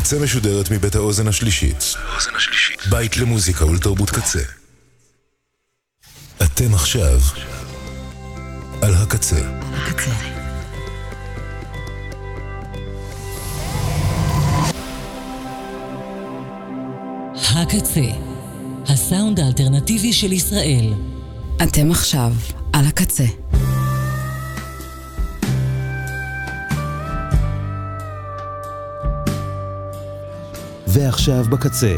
הקצה משודרת מבית האוזן השלישית. בית למוזיקה ולתרבות קצה. אתם עכשיו על הקצה. הקצה, הסאונד האלטרנטיבי של ישראל. אתם עכשיו על הקצה. ועכשיו בקצה,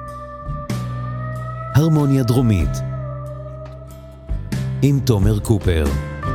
הרמוניה דרומית עם תומר קופר.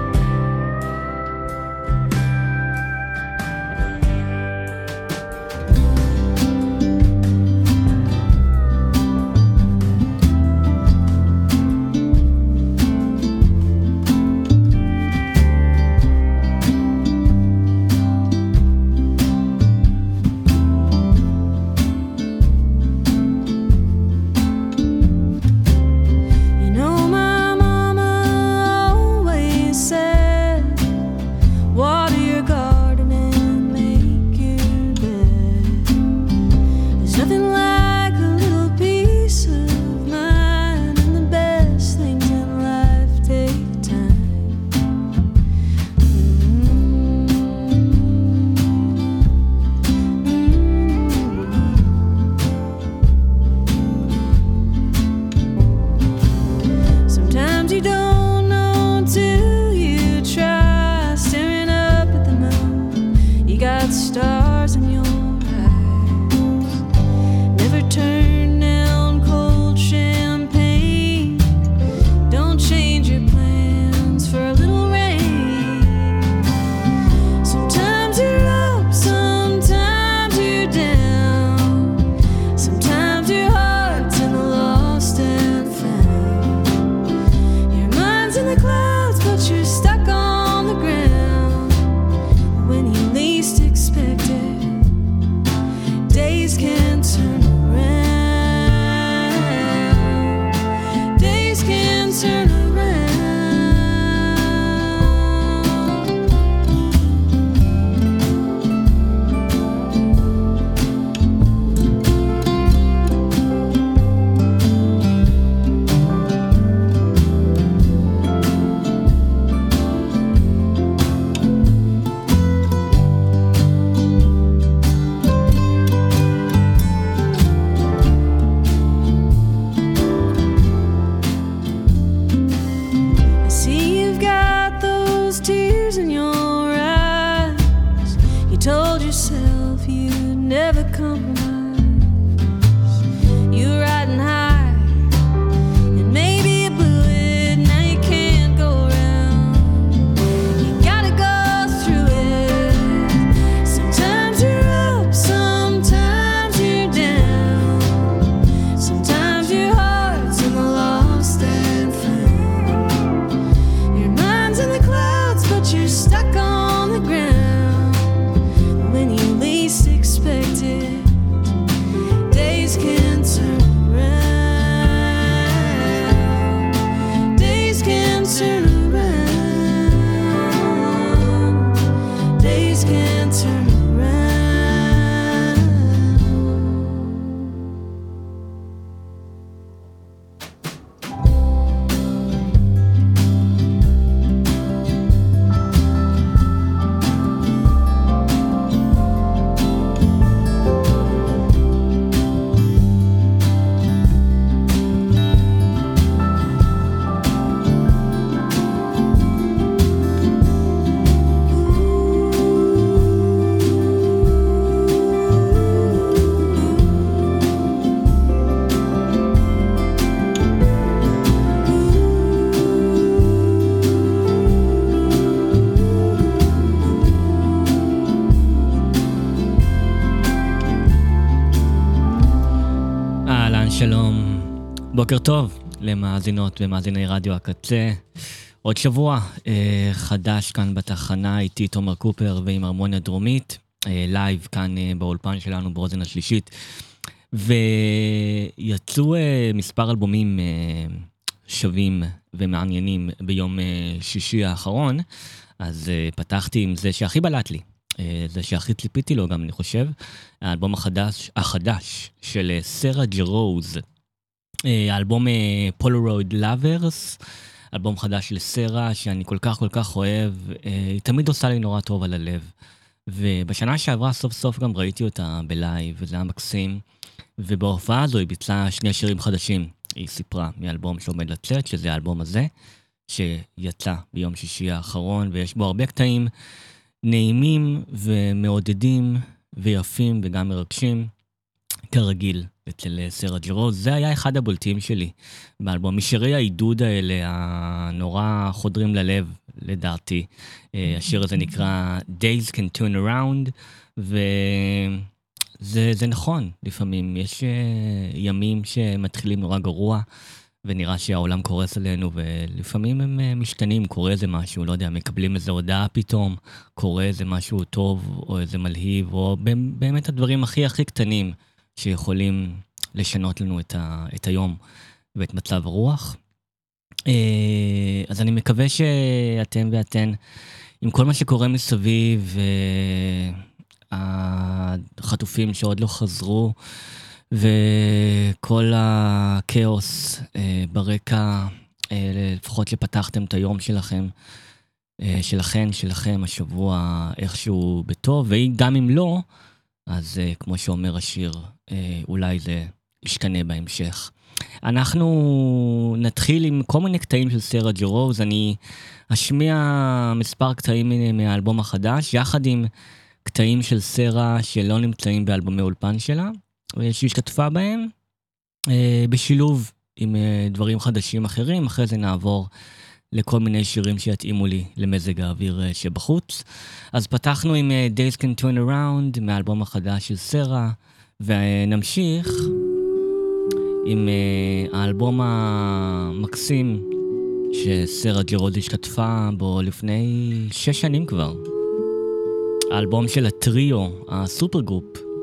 שלום, בוקר טוב למאזינות ומאזיני רדיו הקצה. עוד שבוע חדש כאן בתחנה, איתי תומר קופר ועם הרמוניה דרומית, לייב כאן באולפן שלנו באוזן השלישית. ויצאו מספר אלבומים שווים ומעניינים ביום שישי האחרון, אז פתחתי עם זה שהכי בלט לי. זה שהכי ציפיתי לו גם, אני חושב, האלבום החדש של סרה ג'רוז, האלבום פולרויד לאברס, אלבום חדש של סרה שאני כל כך אוהב, היא תמיד עושה לי נורא טוב על הלב. ובשנה שעברה סוף סוף גם ראיתי אותה בלייב, וזה היה מקסים, ובהופעה הזו היא ביצעה 2 שירים חדשים. היא סיפרה מאלבום שעומד לצאת, שזה האלבום הזה, שיצא ביום שישי האחרון, ויש בו הרבה קטעים נעימים ומעודדים ויפים וגם מרגשים, כרגיל אצל סרה ג'רוז. זה היה אחד הבולטים שלי באלבום, משירי העידוד האלה הנורא חודרים ללב לדעתי. השיר הזה נקרא Days Can Turn Around, וזה נכון, לפעמים יש ימים שמתחילים נורא גרוע, ונראה שהעולם קורס עלינו, ולפעמים הם משתנים, קורה איזה משהו, לא יודע, מקבלים איזו הודעה פתאום, קורה איזה משהו טוב, או איזה מלהיב, או באמת הדברים הכי קטנים, שיכולים לשנות לנו את היום, ואת מצב הרוח. אז אני מקווה שאתם ואתן, עם כל מה שקורה מסביב, החטופים שעוד לא חזרו, וכל הכאוס ברקע, לפחות שפתחתם את היום שלכם, שלכם השבוע איכשהו בטוב, וגם אם לא, אז כמו שאומר השיר, אולי זה ישתנה בהמשך. אנחנו נתחיל עם כל מיני קטעים של סרה ג'רוז, אני אשמיע מספר קטעים מהאלבום החדש, יחד עם קטעים של סרה שלא נמצאים באלבומי אולפן שלה, שהשתתפה בהם, בשילוב עם דברים חדשים אחרים. אחרי זה נעבור לכל מיני שירים שיתאימו לי למזג האוויר שבחוץ. אז פתחנו עם Days Can Turn Around מהאלבום החדש של סרה, ונמשיך עם האלבום המקסים שסרה ג'רוז השתתפה בו לפני 6 שנים כבר. האלבום של הטריו, הסופר גרופ,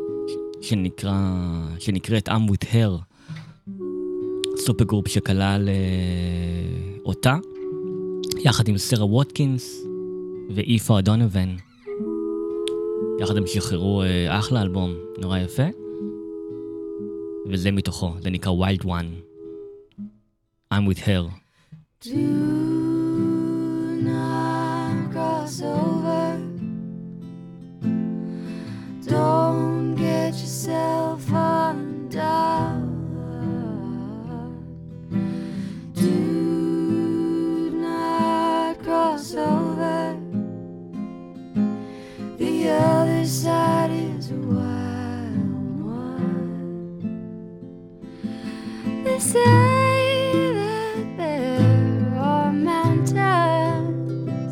שנקראת I'm With Her, סופר גרופ שכלל אותה, יחד עם סרה ווטקינס ואיפה דונובן. יחד הם שחררו אחלה אלבום, נורא יפה. וזה מתוכו, זה נקרא Wild One. I'm With Her. Do not cross over. Don't get yourself undone. Do not cross over. The other side is a wild one. They say that there are mountains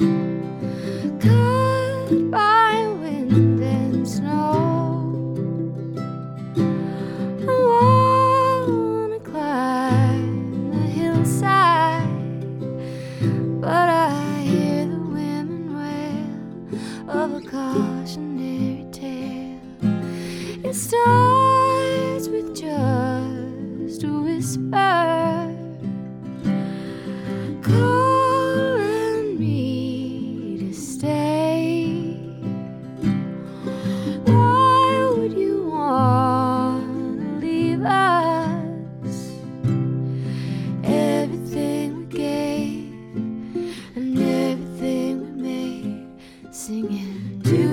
cut by wind and snow. I wanna climb the hillside, but I hear the women wail of a cautionary tale. It starts with just a whisper, calling me to stay. Why would you want to leave us? Everything we gave and everything we made, singing, do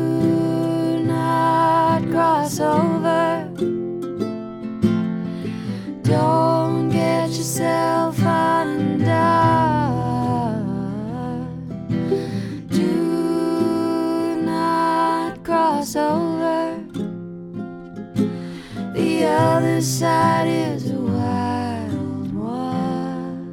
not cross over. Don't get yourself undone. Do not cross over. The other side is a wild one.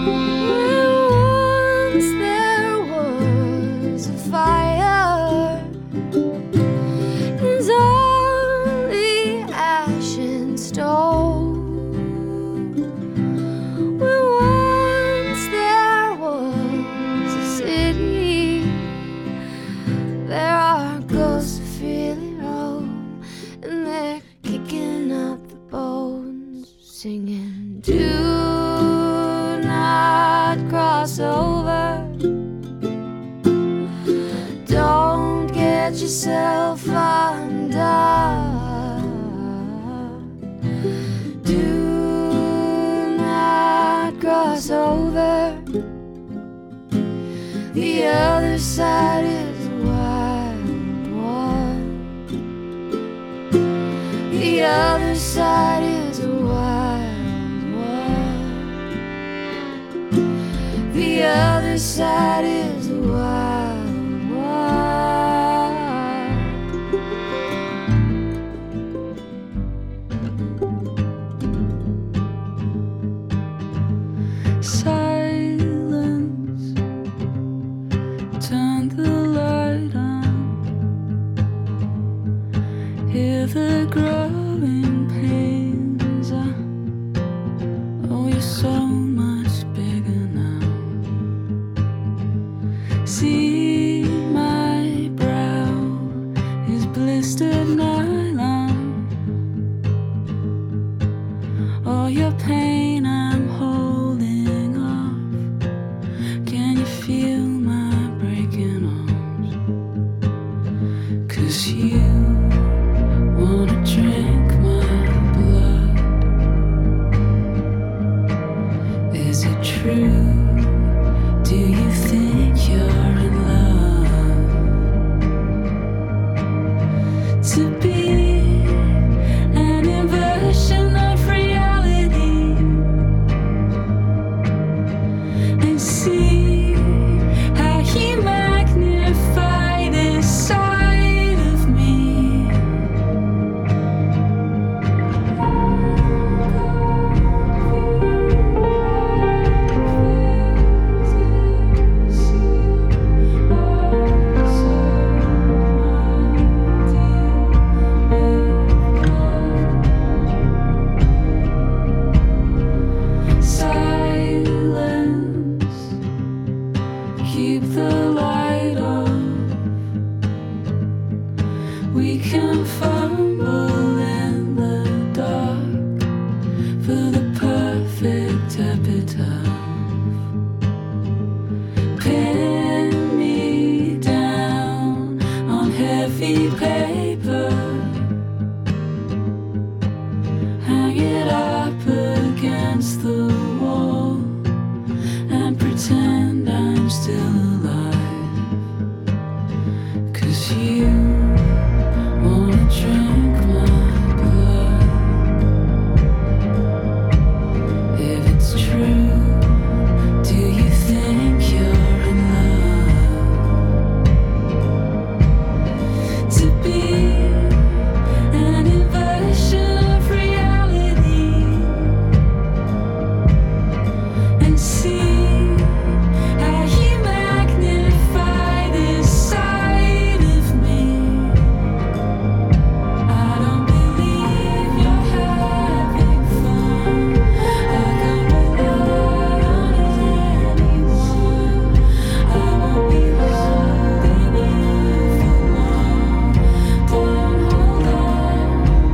Once there was a fire yourself undone. Do not cross over. The other side is a wild one. The other side is a wild one. The other side is a wild one. Silence, turn the light on. Hear the growing pains. Oh, you're so much bigger now. See my brow is blistered nylon. All your pain I'm holding off. Can you feel my breaking arms? 'Cause you wanna drink my blood. Is it true? Do you think you're in love? To be an inversion of reality and see how he magnified this side of me. Silence, keep the light on. We can fumble in the dark for the perfect epitaph. Pin me down on heavy paper. Hang it up against the wall and pretend I'm still alive. 'Cause you wanna drink my blood. If it's true, do you think you're in love? To be an inversion of reality and see how you magnify this side of me. I don't believe you're having fun. I can't rely on anyone. I won't be holding you for long. Don't hold on.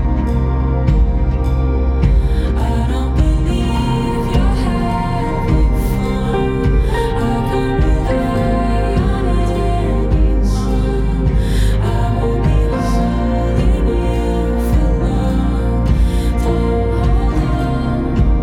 I don't believe you're having fun. I can't rely on anyone. I won't be holding you for long. Don't hold on.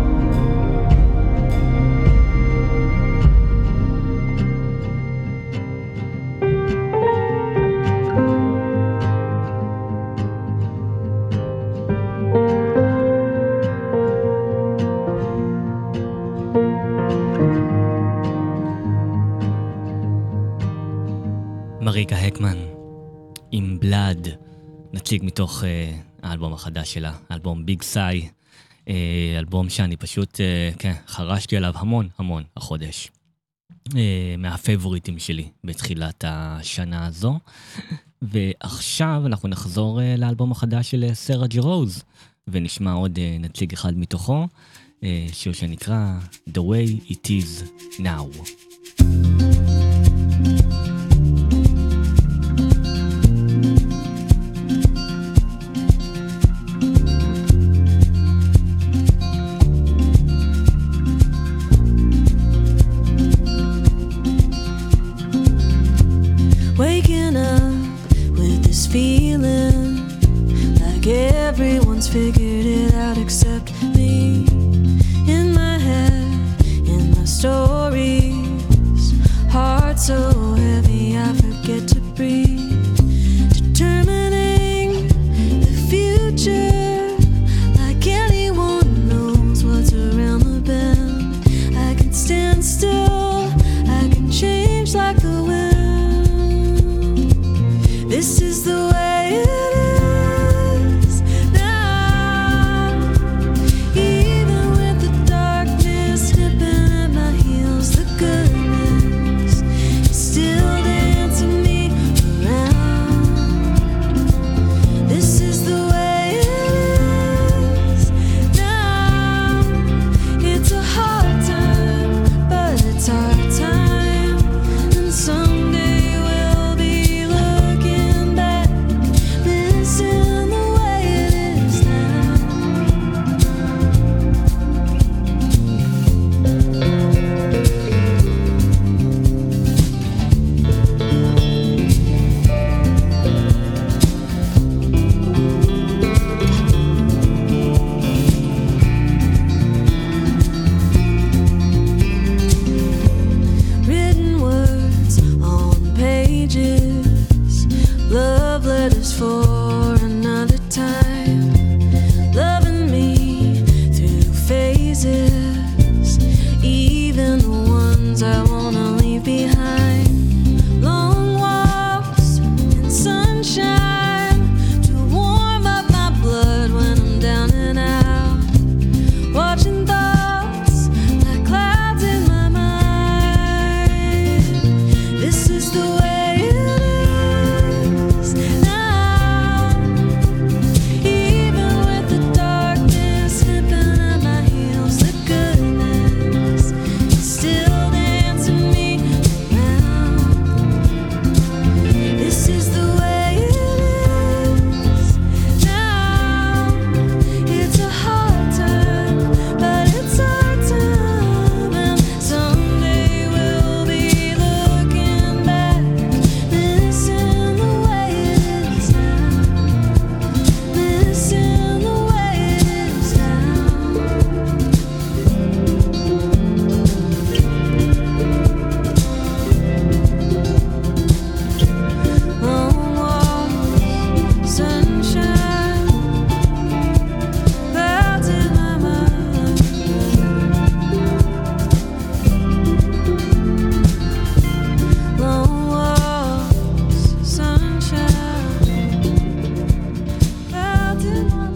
מריקה הקמן עם בלאד, נציג מתוך האלבום החדש שלה, אלבום ביג סאי, אלבום שאני פשוט חרשתי עליו המון החודש, מהפייבוריטים שלי בתחילת השנה הזו. ועכשיו אנחנו נחזור לאלבום החדש של סרה ג'י רוז ונשמע עוד נציג אחד מתוכו, שיר שנקרא The Way It Is Now. Waking up with the one's figured it out except me. In my head, in my stories, heart so heavy I forget to breathe. Determining the future, like anyone knows what's around the bend. I can stand still, I can change like the wind. This is the way it is now. Even with the darkness nipping at my heels, the goodness is still dancing me around. This is the way it is now. It's a hard time, but it's our time, and someday we'll be looking back, missing the way it is now. Written words on pages, love letters for another time, loving me through phases, even the ones I wanna leave behind. Long walks in sunshine to warm up my blood when I'm down and out, watching thoughts like clouds in my mind. This is the way it is now. Even with the darkness nipping at my heels, the goodness is still dancing me around. This is the way it is now. It's a hard time, but it's our time, and someday we'll be looking back, missing the way it is now, missing the way it is now. Long walks, sunshine, clouds in my mind. Long walks, sunshine, clouds in my mind.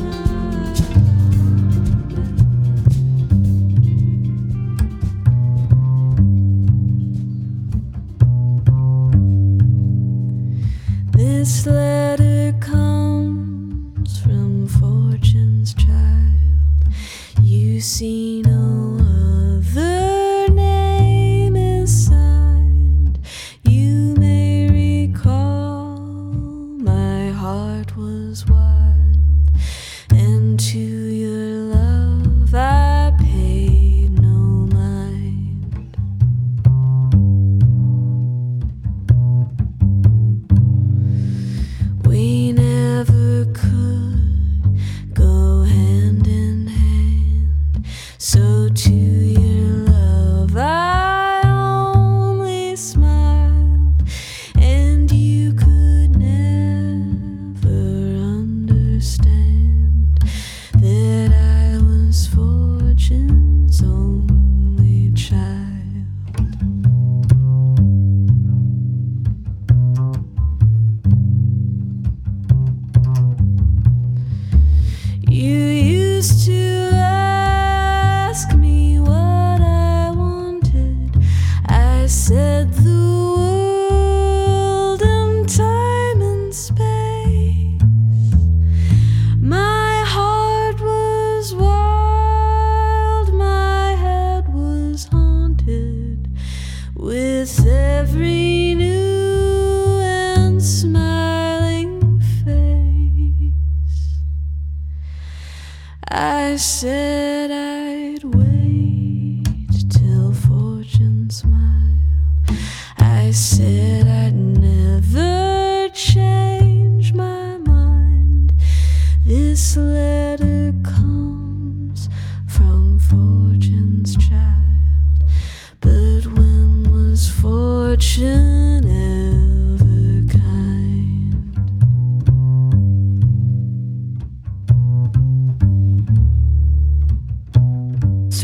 This letter comes from Fortune's child. You see no other name is signed. You may recall my heart was wild, and to your love I paid no mind. We never could go hand in hand, so to your love I only smiled, and you could never understand that I was Fortune's only child. You used to ask me what I wanted. I said the world and time and space. My heart was wild, my head was haunted with every new and smiling face. I said I'd wait till Fortune smiled. I said I'd never change my mind. This letter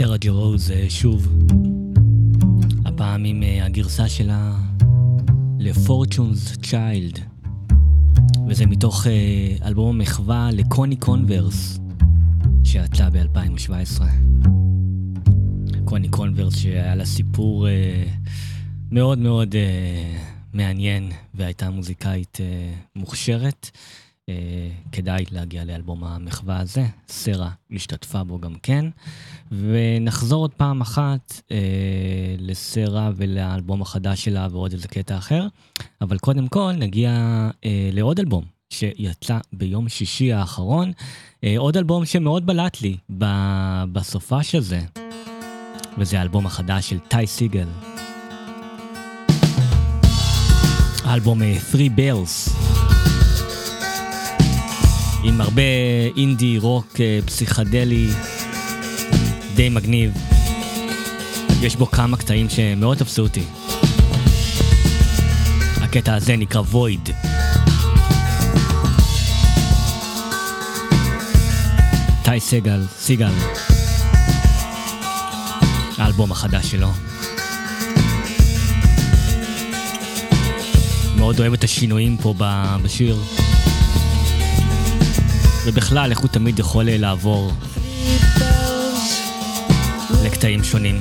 סרה ג'רוז שוב, הפעם עם הגרסה שלה ל-Fortune's Child, וזה מתוך אלבום המחווה לקוני קונברס שיצא ב-2017. קוני קונברס שהיה לה סיפור מאוד מאוד מעניין, והייתה מוזיקאית מוכשרת. כדאי להגיע לאלבום המחווה הזה, סרה השתתפה בו גם כן, ונחזור עוד פעם אחת לסרה ולאלבום החדש שלה ועוד איזה קטע אחר, אבל קודם כל נגיע לעוד אלבום שיצא ביום שישי האחרון, עוד אלבום שמאוד בלט לי בסופה של זה, וזה האלבום החדש של טי סיגל, האלבום 3 Bells, עם הרבה אינדי, רוק, פסיכדלי, די מגניב. יש בו כמה קטעים שמאוד תפסו אותי. הקטע הזה נקרא Void. טי סיגל, האלבום החדש שלו. מאוד אוהב את השינויים פה בשיר. ובכלל, איך הוא תמיד יכול לעבור לקטעים שונים.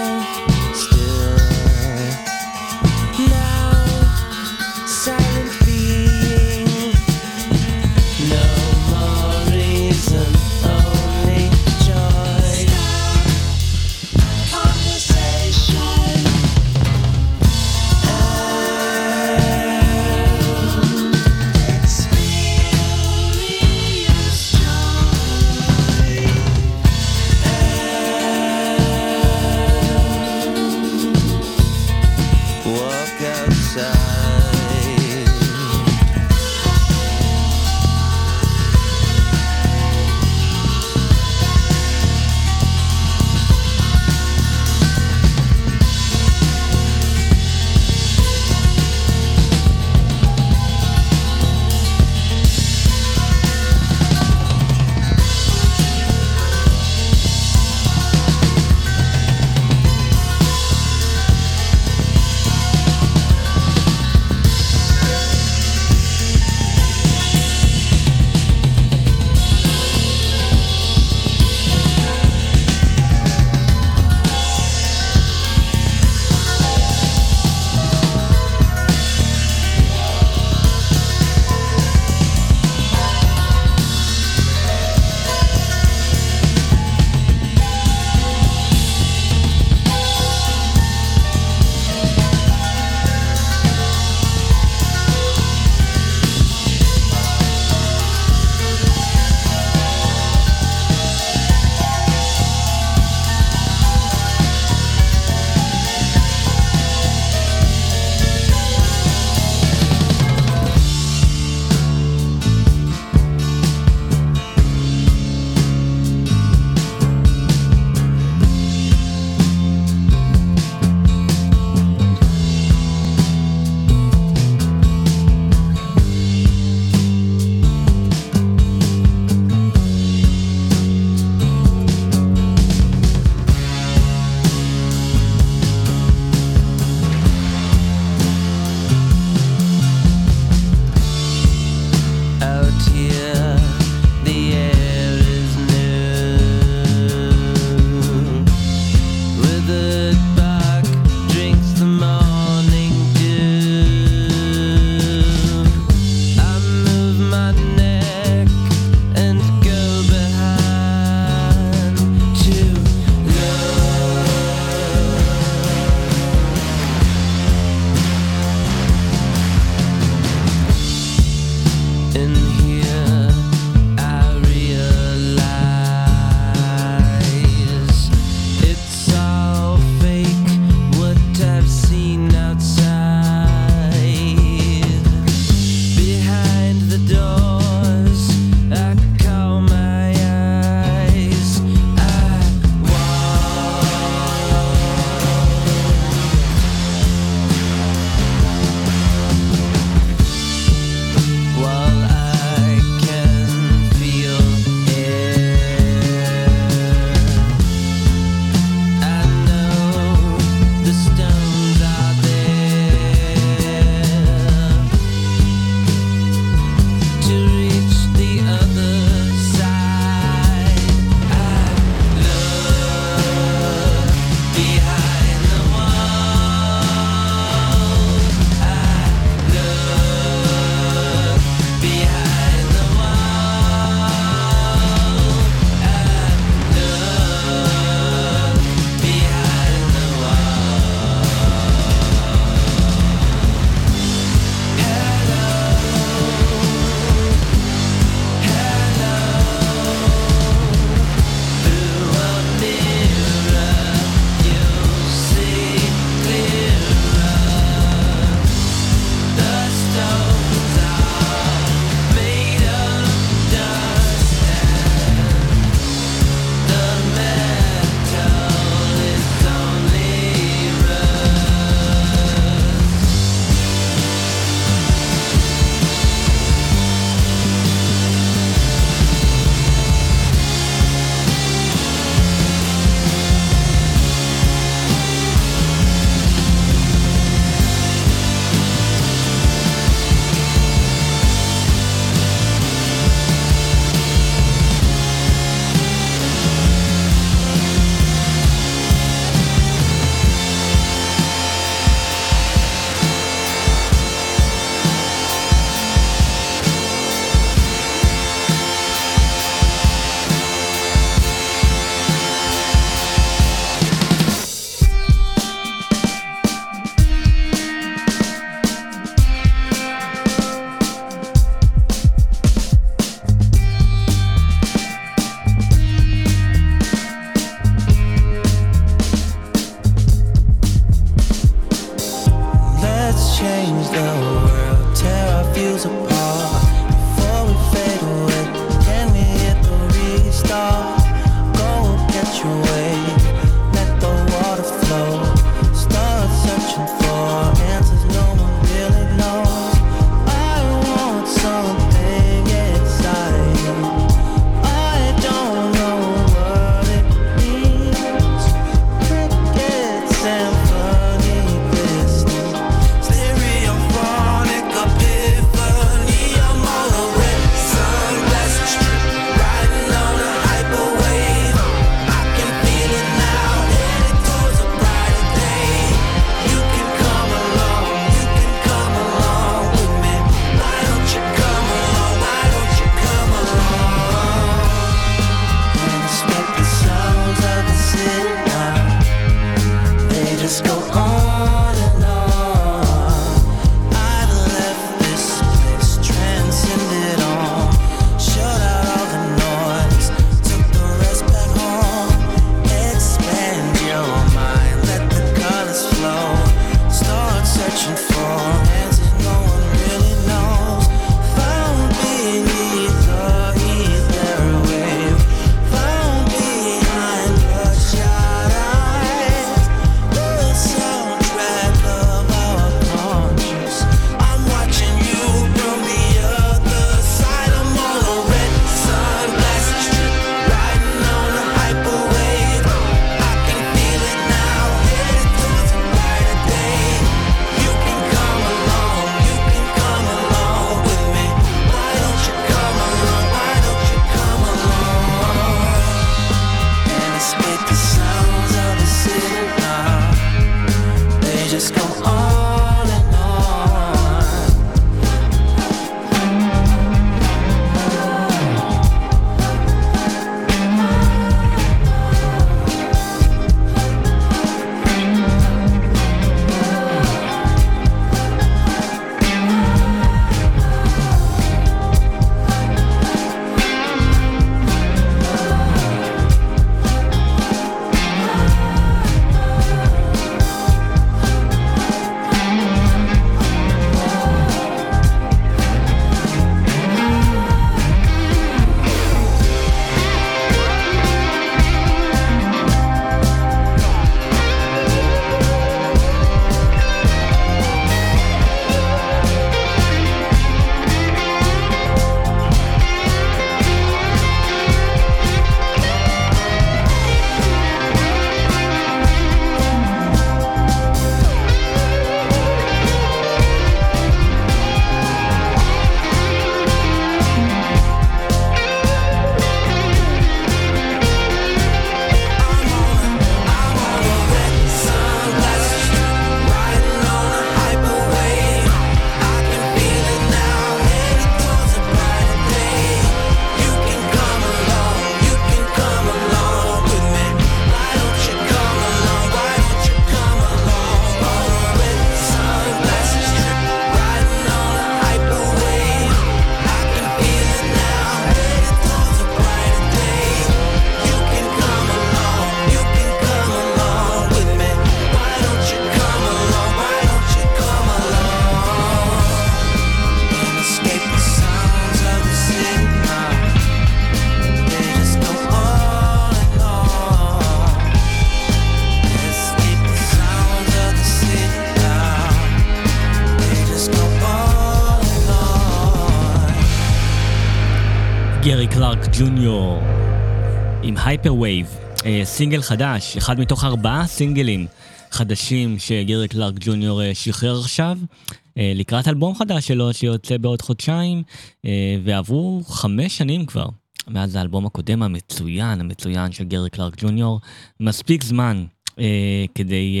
גרי קלארק ג'וניור עם הייפרווייב, סינגל חדש, אחד מתוך 4 סינגלים חדשים שגרי קלארק ג'וניור שחרר עכשיו, לקראת אלבום חדש שלו שיוצא בעוד חודשיים, ועברו 5 שנים כבר מאז האלבום הקודם המצוין של גרי קלארק ג'וניור. מספיק זמן כדי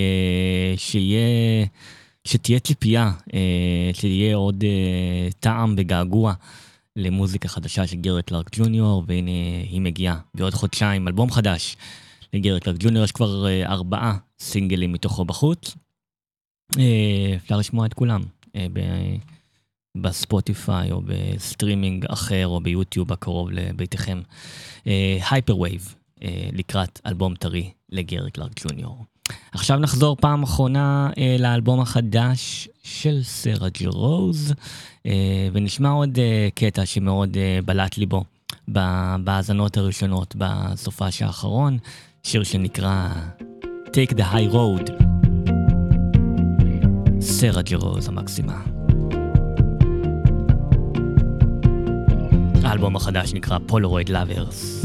שתהיה ציפייה, שתהיה עוד טעם וגעגוע למוזיקה חדשה של גרי קלארק ג'וניור, והנה היא מגיעה בעוד חודשיים, אלבום חדש לגרי קלארק ג'וניור. יש כבר 4 סינגלים מתוכו בחוץ, אפשר לשמוע את כולם בספוטיפיי או בסטרימינג אחר או ביוטיוב הקרוב לביתכם. הייפרווייב, לקראת אלבום טרי לגרי קלארק ג'וניור. עכשיו נחזור פעם אחרונה לאלבום החדש של סרה ג'י רוז, ונשמע עוד קטע שמאוד בלט לי בו בהאזנות הראשונות בסופש האחרון, שיר שנקרא Take the High Road. סרה ג'י רוז המקסימה. האלבום החדש נקרא Polaroid Lovers.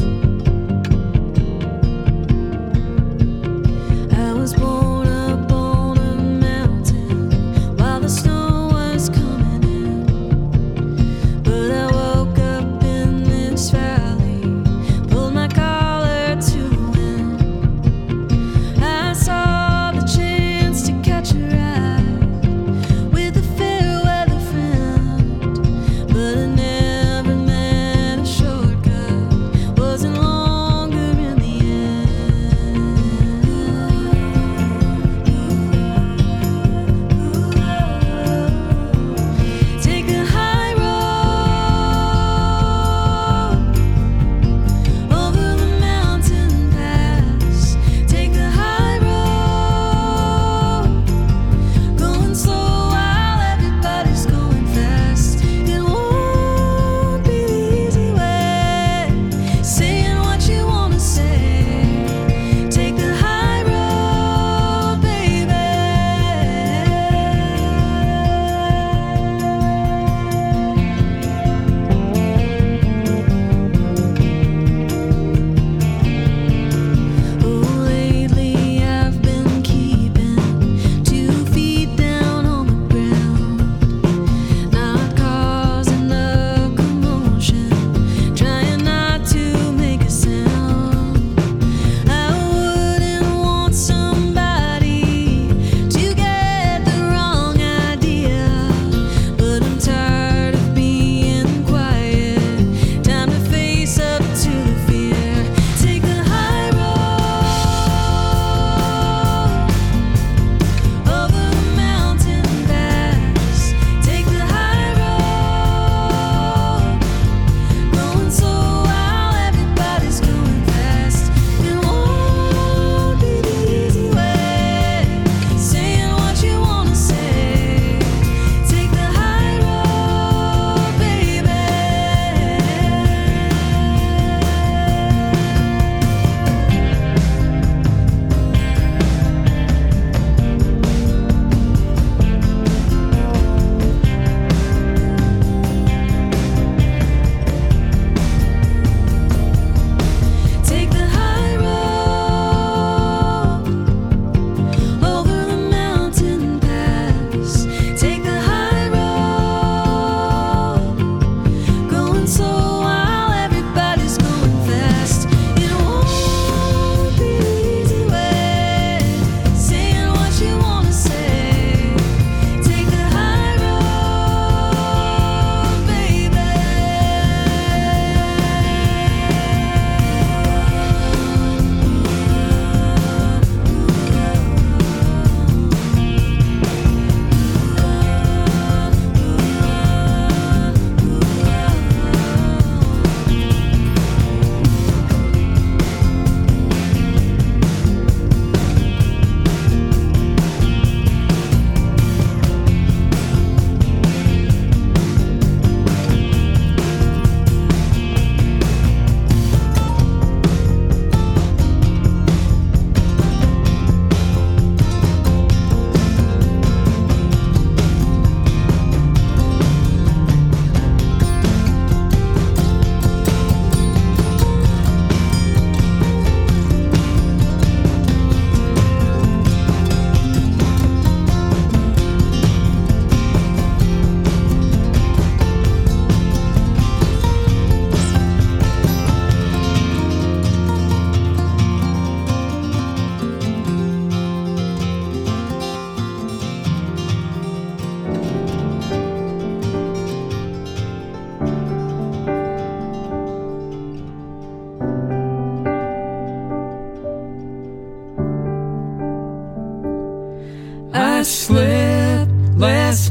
I was born up on a mountain while the snow was coming in, but I woke up in this valley, pulled my collar to the wind. I saw the chance to catch a ride with a fair weather friend, but I never met a shortcut, wasn't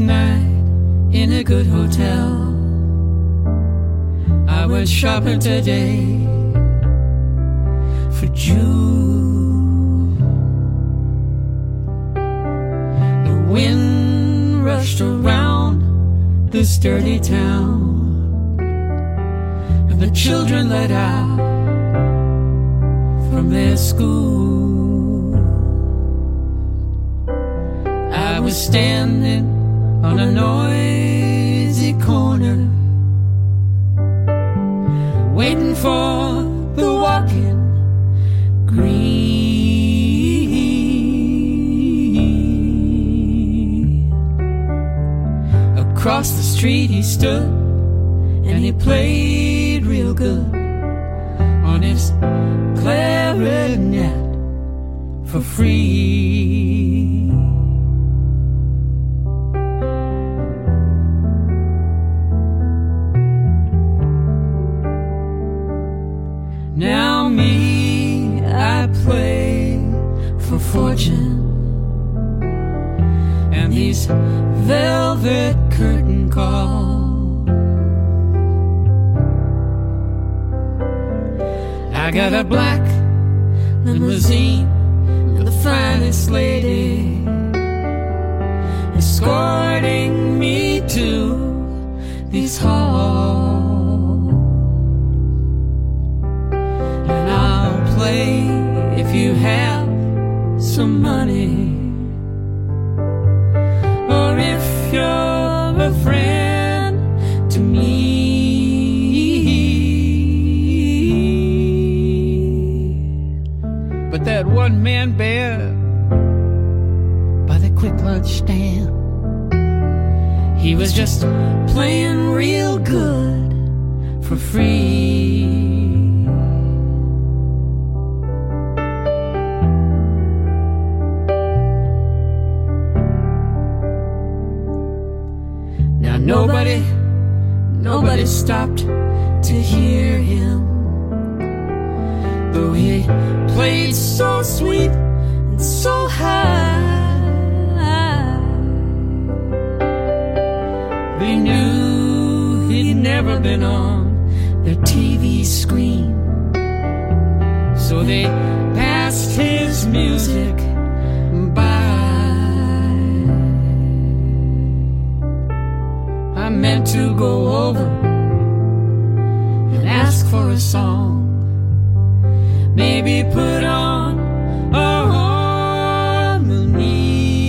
night in a good hotel. I went shopping today for June. The wind rushed around this dirty town, and the children let out from their school. I was standing on a noisy corner, waiting for the walking green. Across the street he stood, and he played real good on his clarinet for free. Now me, I play for fortune, and these velvet curtain calls. I got a black limousine and the finest lady escorting me to these halls. And I'll play if you have some money, or if you're a friend to me. But that one-man band by the quick lunch stand, he was just playing real good for free. Now nobody stopped to hear him, though he played so sweet and so high. They knew he'd never been on their TV screen, so they passed his music by. I meant to go over and ask for a song, maybe put on a harmony.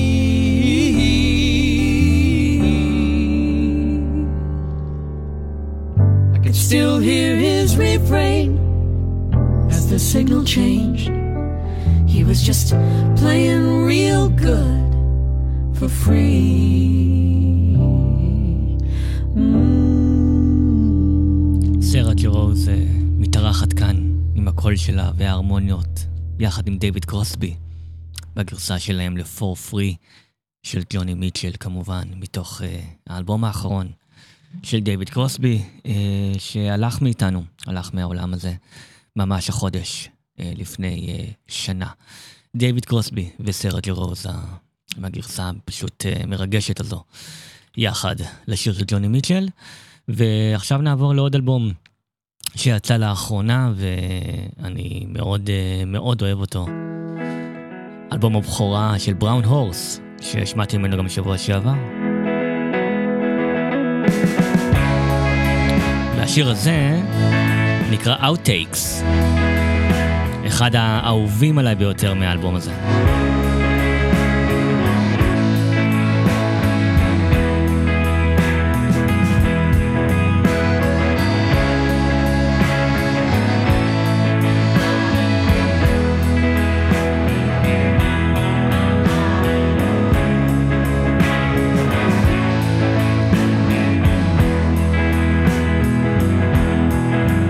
I could still hear his refrain as the signal changed. He was just playing real good for free. סרה ג'רוז מתארחת כאן עם הקול שלה וההרמוניות יחד עם דיוויד קרוסבי בגרסה שלהם ל-For Free של ג'וני מיטשל, כמובן מתוך האלבום האחרון של דיוויד קרוסבי שהלך מאיתנו, הלך מהעולם הזה ממש החודש לפני שנה. דיוויד קרוסבי וסרה ג'רוז עם הגרסה פשוט מרגשת הזו יחד לשיר של ג'וני מיטשל. ועכשיו נעבור לעוד אלבום שיצא לאחרונה ואני מאוד מאוד אוהב אותו, אלבום הבכורה של בראון הורס ששמעתי ממנו גם שבוע שעבר, והשיר הזה נקרא Outtakes, אחד האהובים עליי ביותר מהאלבום הזה.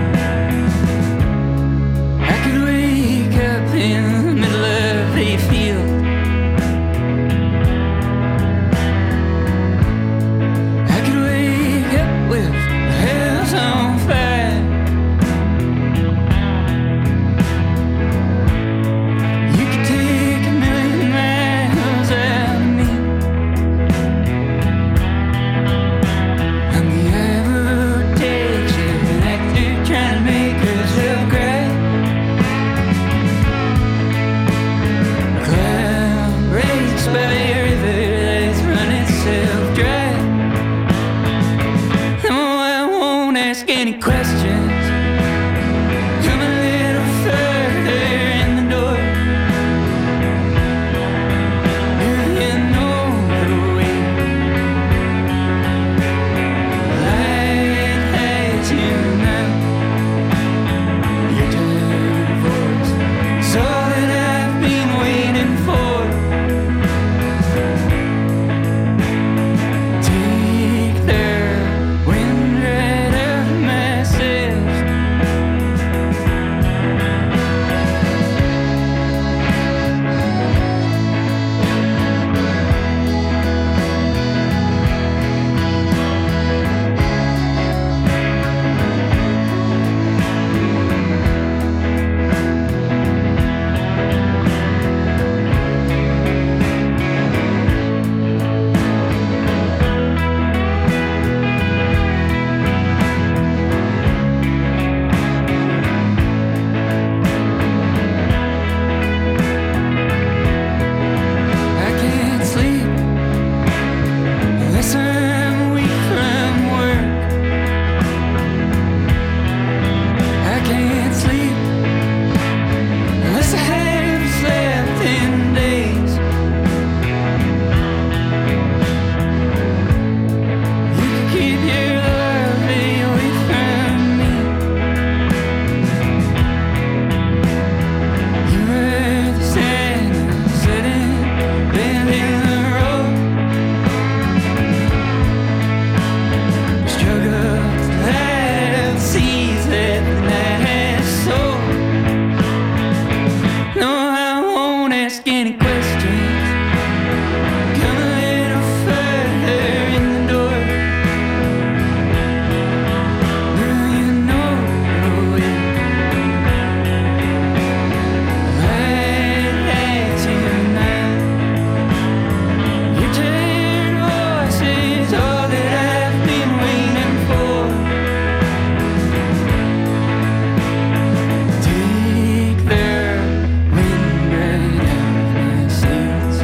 Feel won't ask any questions. Come a little further in the door. Do you know the way? Light has you now. Your divorce is all that I've been waiting for. Take the wind right out of my sails. I can't sleep unless I'm weak from work. I can't sleep unless I have slept in days. You can keep your love away from me. You were the sand sitting bend in the road. Struggle to light up seas that the night has sown. No, I won't ask any questions. Come a little further in the door. Do you know the way? Light has you now. Your tired voice is all that I've been waiting for. Take the wind right out of my sails.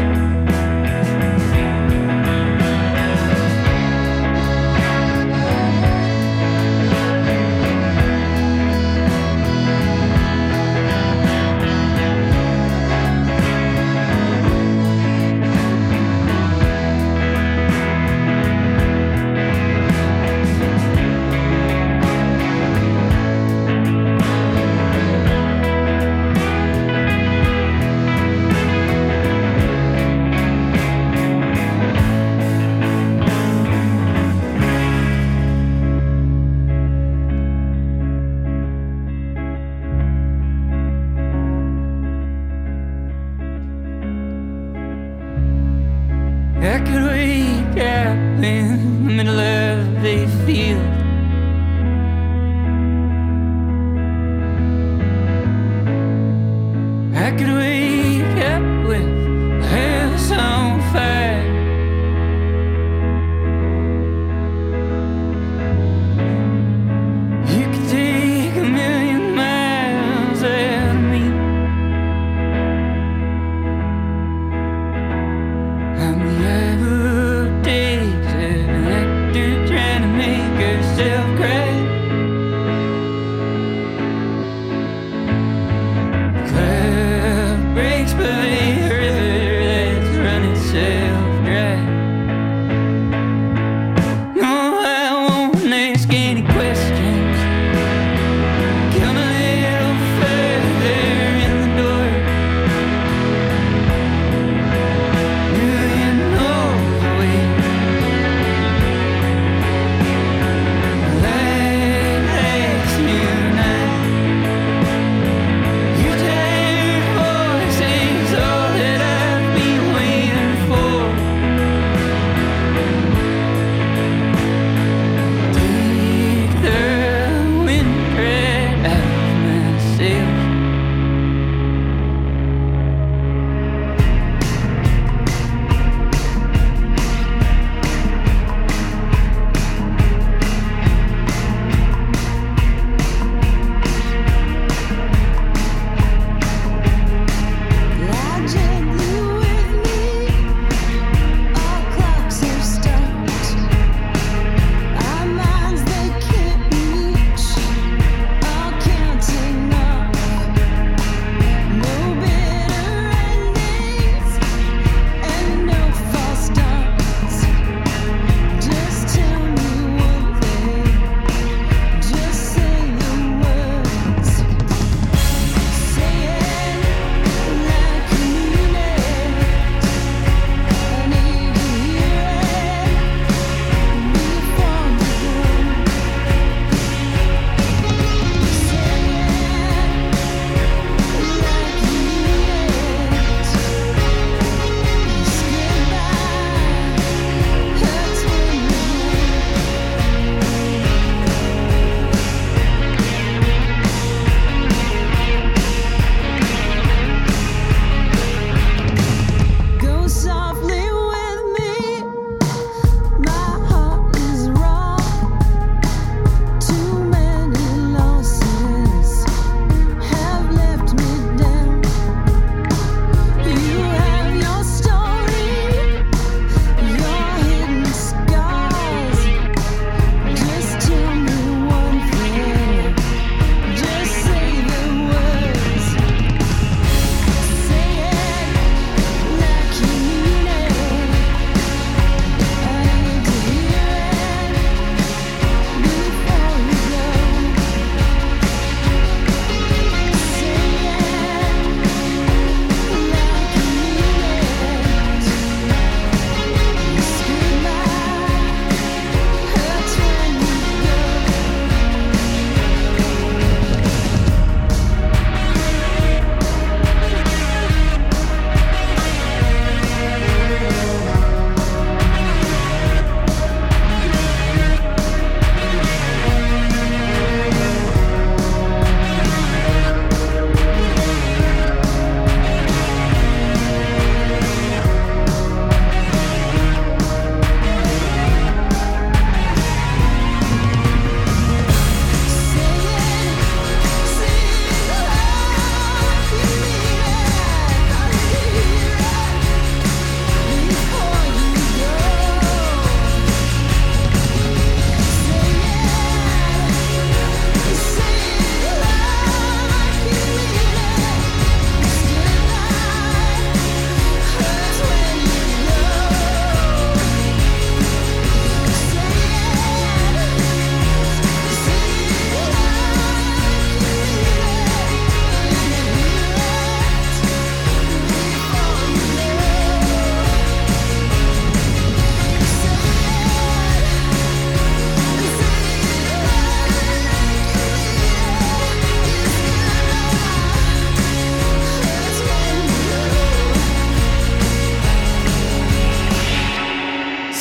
I could wake up in the middle of a field. I could wake up with the house on fire. You could take 1,000,000 miles out of me. I'm the eye of days, an actor trying to make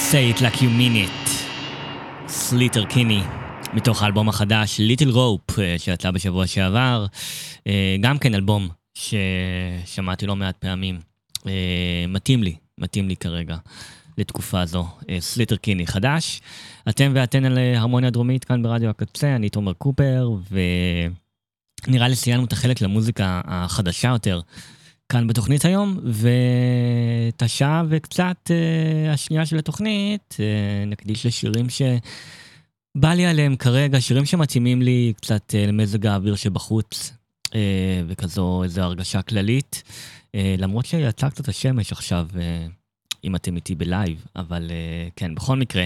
Say it like you mean it. סליטר קיני, מתוך האלבום החדש ליטל רופ שיצא בשבוע שעבר, גם כן אלבום ששמעתי לא מעט פעמים, מתאים לי כרגע לתקופה הזו. סליטר קיני חדש. אתם ואתן על הרמוניה דרומית כאן ברדיו הקצה, אני תומר קופר, ונראה לי סיימנו את החלק למוזיקה החדשה יותר כאן בתוכנית היום, ואת השעה וקצת השנייה של התוכנית נקדיש לשירים שבא לי עליהם כרגע, שירים שמתאימים לי קצת למזג האוויר שבחוץ, וכזו איזו הרגשה כללית, למרות שיצא קצת השמש עכשיו, אם אתם איתי בלייב, אבל כן, בכל מקרה.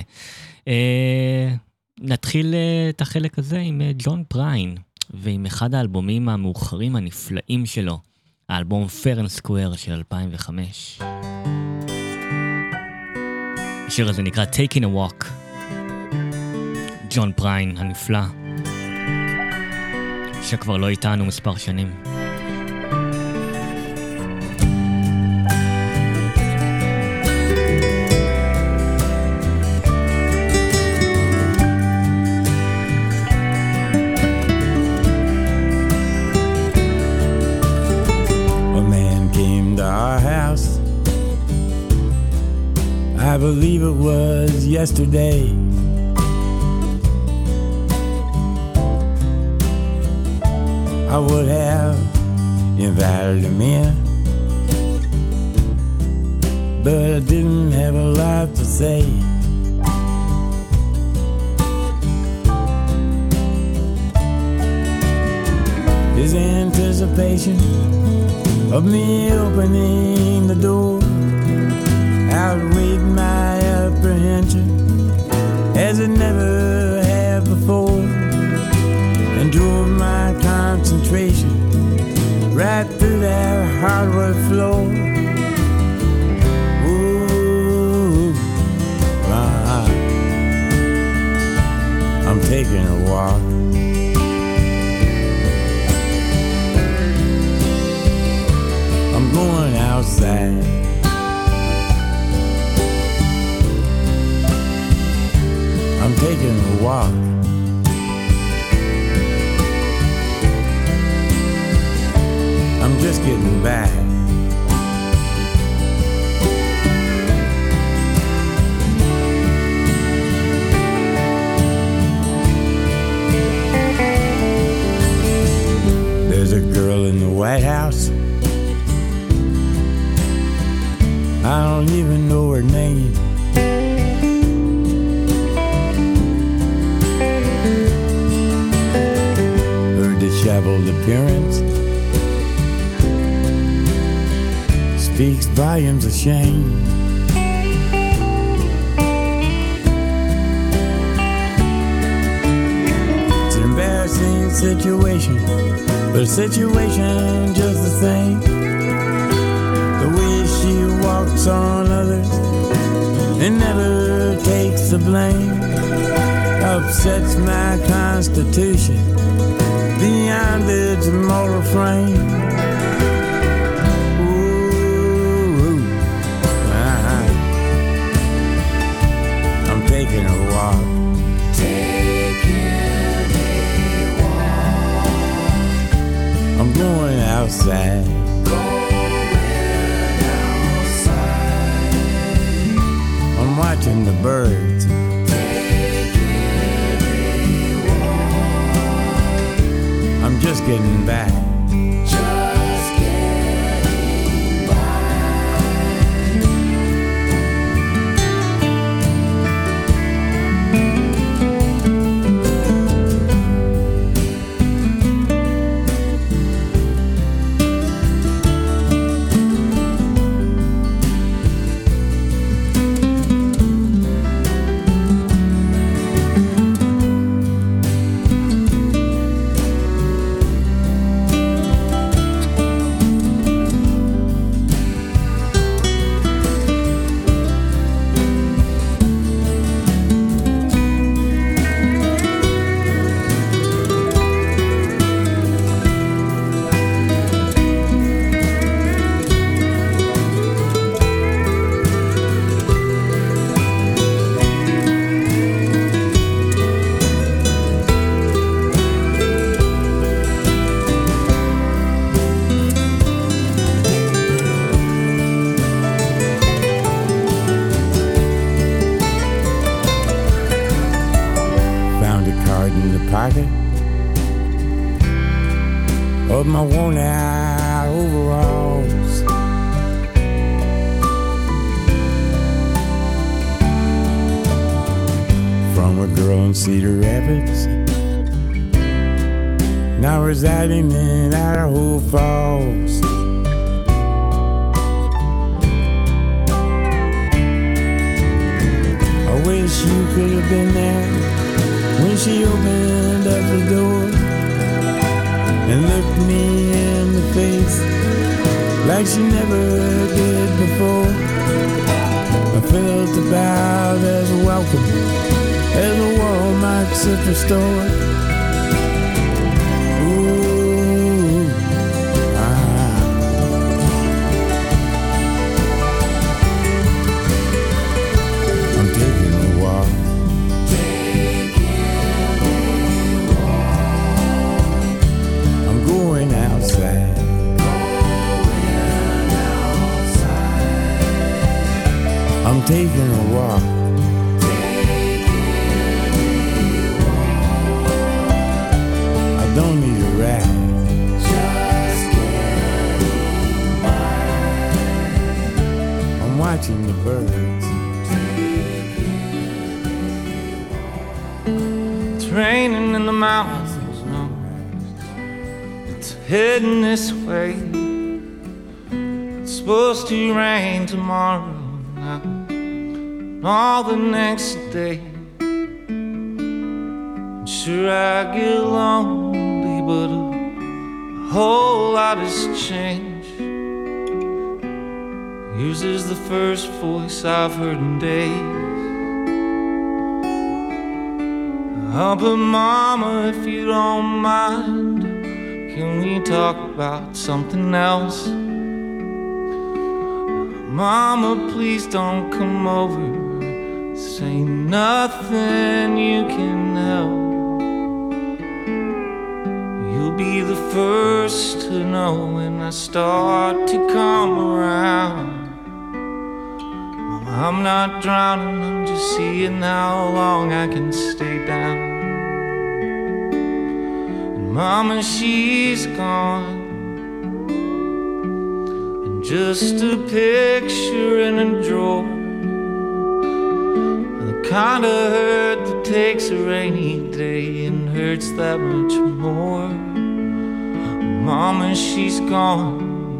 נתחיל את החלק הזה עם ג'ון פריין, ועם אחד האלבומים המאוחרים הנפלאים שלו, האלבום Fair and Square של 2005. השיר הזה נקרא Taking a Walk. ג'ון פריין הנפלא, שכבר לא איתנו מספר שנים. I believe it was yesterday. I would have invited him in, but I didn't have a lot to say. His anticipation of me opening the door outweighed my apprehension as it never had before, and drove my concentration right through that hardwood floor. Ooh, I'm taking a walk. I'm going outside. I'm taking a walk. I'm just getting back. There's a girl in the White House. I don't even know her name. Disheveled appearance speaks volumes of shame. It's an embarrassing situation, but a situation just the same. The way she walks on others and never takes the blame upsets my constitution beyond its moral frame. Ooh, I'm taking a walk. Taking a walk. I'm going outside. Going outside. I'm watching the birds. I'm just getting back. Just getting of my worn out overalls. From a girl in Cedar Rapids, now residing in Idaho Falls. I wish you could have been there when she opened up the door and looked me in the face like she never did before. I felt about as welcome as a Walmart superstore. Ooh, I'm taking a walk. I'm going outside. I'm taking a walk. I don't need a ride. Just getting by. I'm watching the birds. It's raining in the mountains, no. It's heading this way. It's supposed to rain tomorrow now, all the next day. And sure I get lonely, but a whole lot has changed. Yours is the first voice I've heard in days. Oh, but Mama, if you don't mind, can we talk about something else? Mama, please don't come over. Say nothing you can help. You'll be the first to know when I start to come around. Mama, I'm not drowning, I'm just seeing how long I can stay down. And Mama, she's gone, and just a picture in a drawer, the kind of hurt that takes a rainy day and hurts that much more. Mama, she's gone.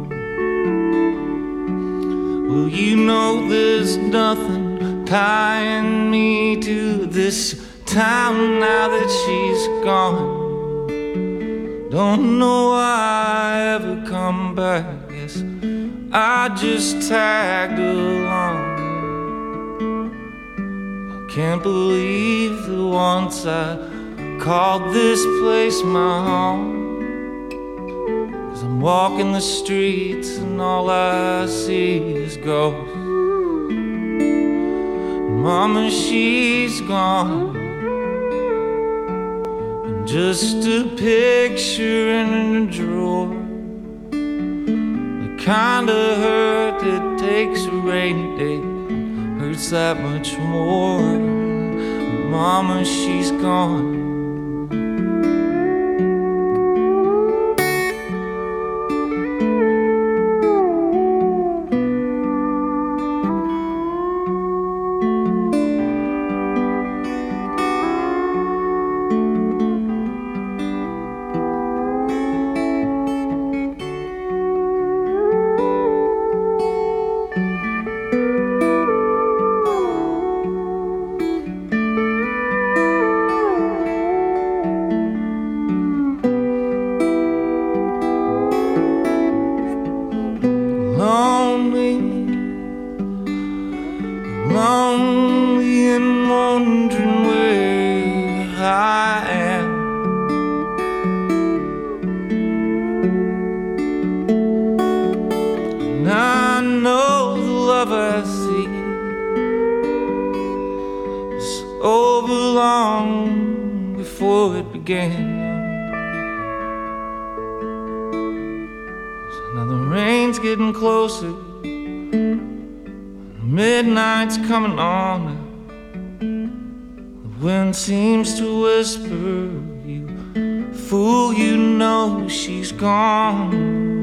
Well, you know there's nothing tying me to this town now that she's gone. Don't know why I ever come back. Guess I just tagged along. I can't believe that once I called this place my home. I'm walking the streets and all I see is ghosts. Mama, she's gone, and just a picture in a drawer, the kind of hurt that takes a rainy day hurts that much more. Mama, she's gone. Lonely and wondering where I am. And I know the love I see was over long before it began. So now the rain's getting closer, midnight's coming on. The wind seems to whisper, you fool, you know know she's gone.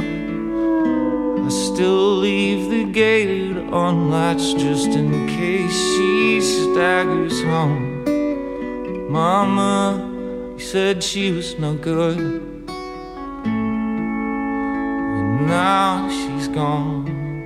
I still leave the gate unlatched just in case she staggers home. Mama, you said she was no good, and now she's gone.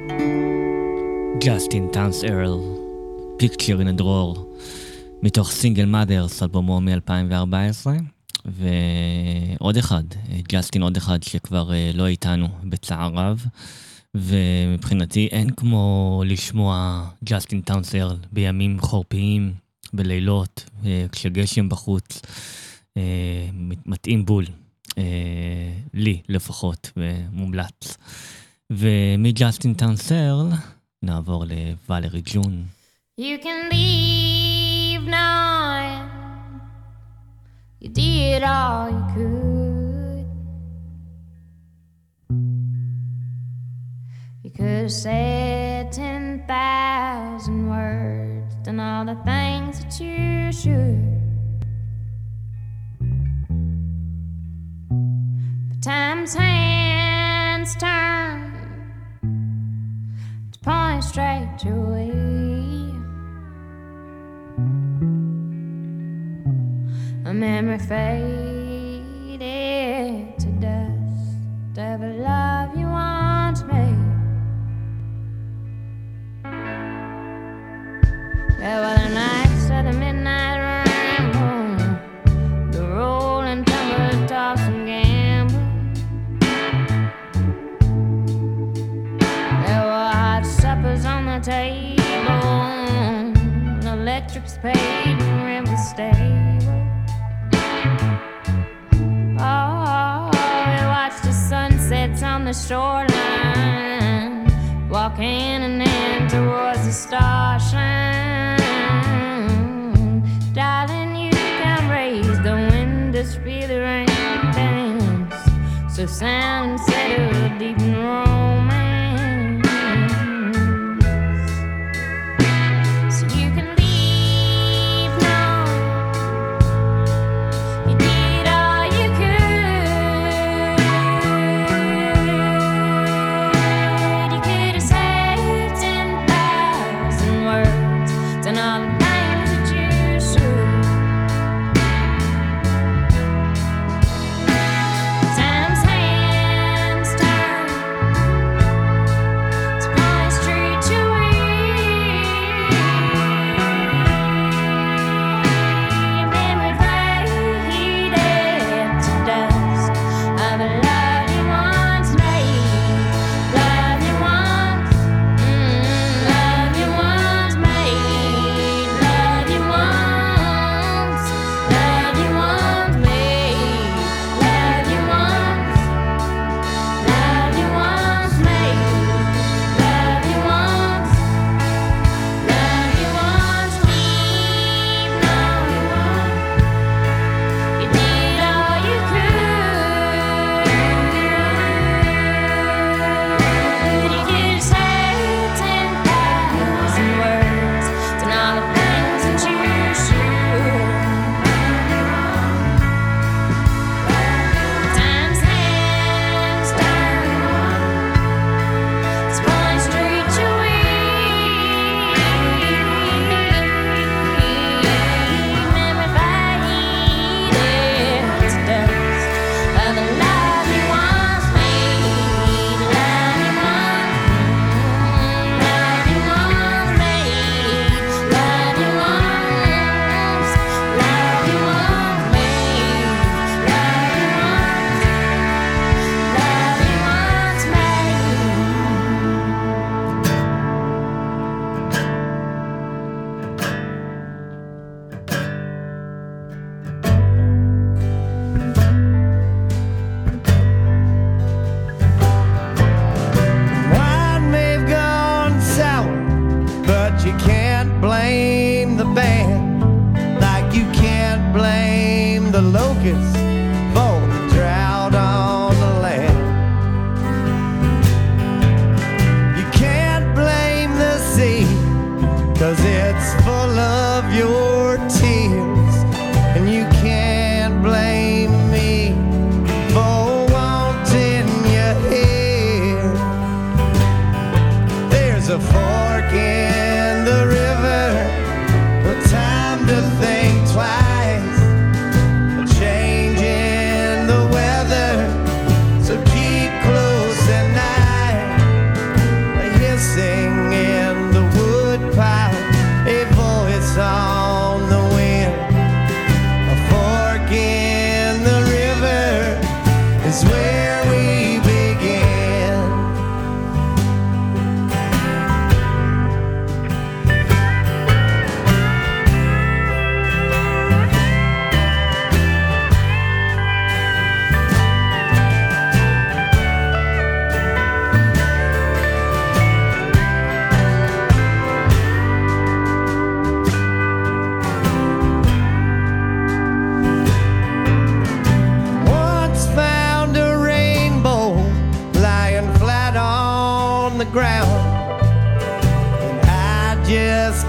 ג'סטין טאונס ארל, Picture in a Drawer, מתוך סינגל מאדרס, אלבומו מ-2014, ועוד אחד, ג'סטין עוד אחד שכבר לא איתנו בצער רב, ומבחינתי אין כמו לשמוע ג'סטין טאונס ארל בימים חורפיים, בלילות, כשגשם בחוץ, מתאים בול, לי לפחות, ומומלץ. ומג'סטין טאונס ארל נעבור לוואלרי ג'ון. You can leave now. You did all you could. You could have said 10,000 words, done all the things that you should. But time's hands turn to point straight your way. A memory faded to dust, every love you once made. There were the nights of the midnight ramble, the rolling tumble, toss and gamble. There were hot suppers on the table, electric spade and rent was stable. Oh, we watched the sunsets on the shoreline, walk hand in hand towards the starshine. Darling, you can raise the wind to feel the rain dance, so sound and settle deep in romance. So you can leave now. You did all you could. You could have said 10,000 words, done all the things that you should. Time's hands turn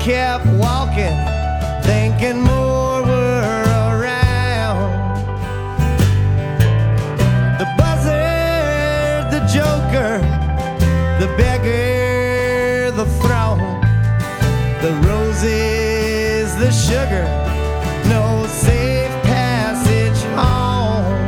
kept walking, thinking more were around. The buzzard, the joker, the beggar, the throne, the roses, the sugar, no safe passage home.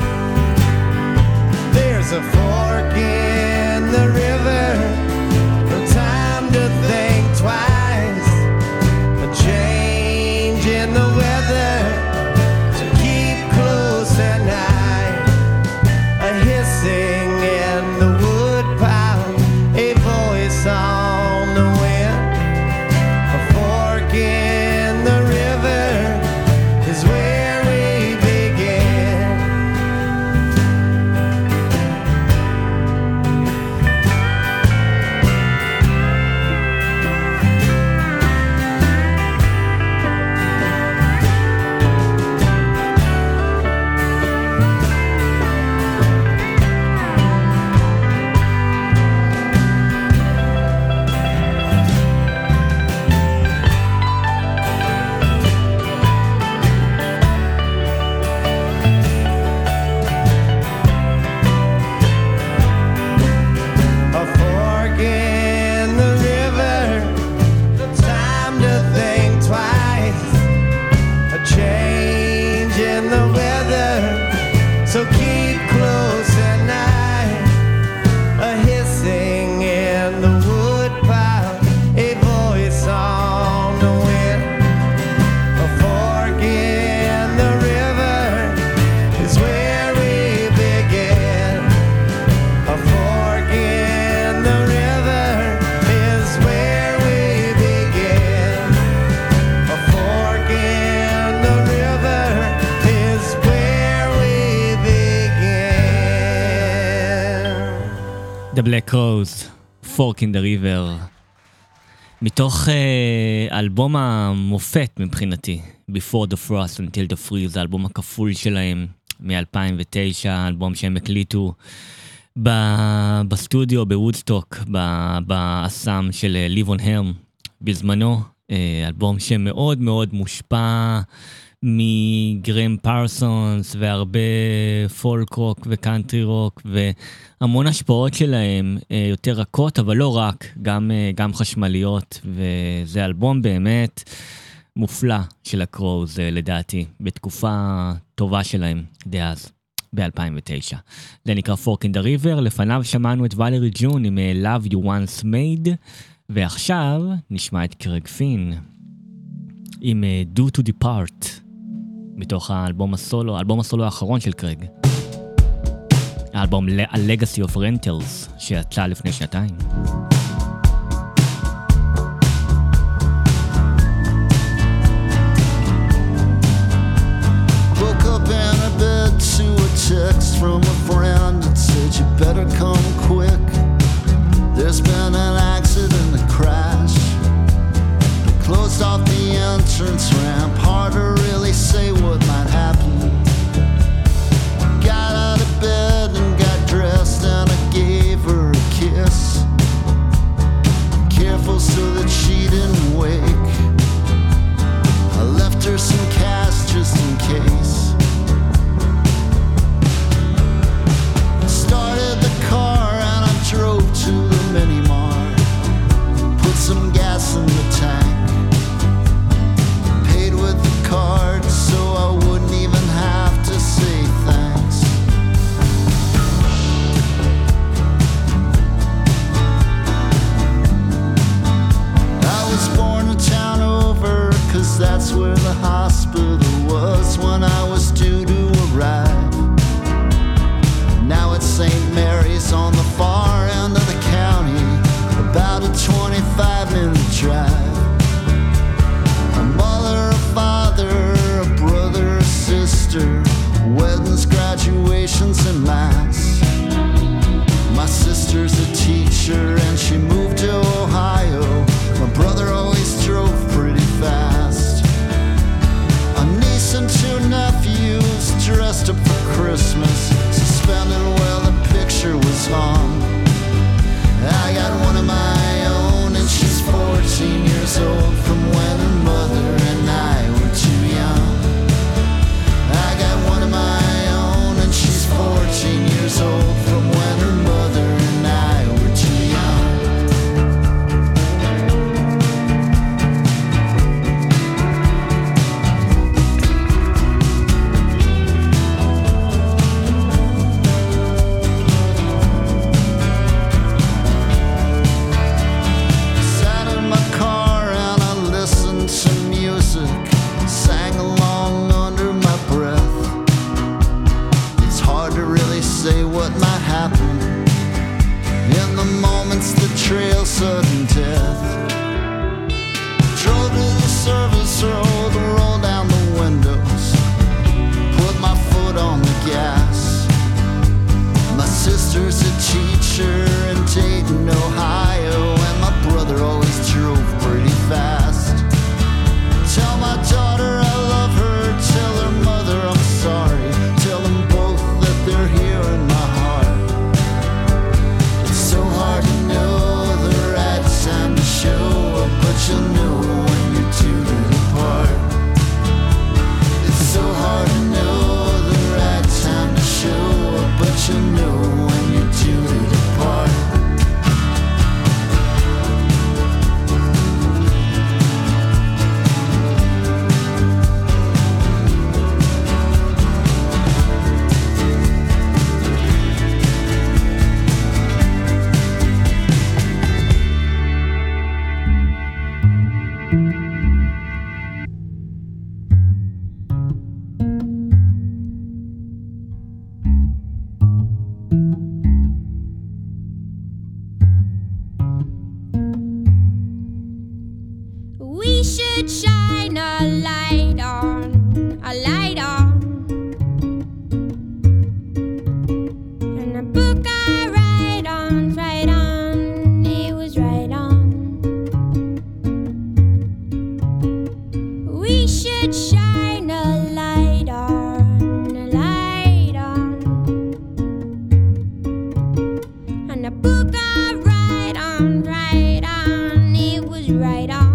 There's a fork in the river, no time to think twice, a change in the weather, so keep close at night, a hissing in the wood pile, a voice on the wind, a fork in the river is where we begin. A fork in the river, no time to think twice, a change in the weather, so keep close at night, a hissing in the wood pile, a voice on the wind, a fork in the river is where we begin. A fork in the river is where we begin. A fork in the river is where we begin. The Black Crowes, Fork in the River, מתוך אלבום המופת מבחינתי, Before the Frost Until the Freeze, זה האלבום הכפול שלהם מ-2009, האלבום שהם הקליטו בסטודיו בוודסטוק, באסם של Live on Helm בזמנו, אלבום שמאוד מאוד מושפע מגרם פרסונס והרבה פולק רוק וקאנטרי רוק והמון השפעות שלהם, יותר רכות אבל לא רק, גם חשמליות, וזה אלבום באמת מופלא של הקרוז לדעתי, בתקופה טובה שלהם דאז ב-2009. זה נקרא Fork in the River, לפניו שמענו את ולרי ג'ון עם Love You Once Made, ועכשיו נשמע את קרג פין עם Do to Depart, מתוך האלבום הסולו, האלבום הסולו האחרון של קרג, האלבום Legacy of Rentals שיצא לפני שנתיים. Woke up in a bed to a text from a friend that said you better come quick. There's been an accident, a crash. They closed off the entrance ramp, hard to really say what might happen. Got out of bed and got dressed and I gave her a kiss. say what might happen in the moments that trail sudden death. Drove to the service road, rolled down the windows, put my foot on the gas. My sister's a teacher in Dayton, Ohio, and my brother always drove pretty fast. Tell my daughter I love her, tell her mother I'm sorry, tell them both that they're here in my heart. It's so hard to know the right time to show up, but you'll know when you're due to depart. It's so hard to know the right time to show up, but you'll know when you're due to depart. We should shine a light on, a light on. And a book I write on, it was right on. We should shine a light on, a light on. And a book I write on, it was right on.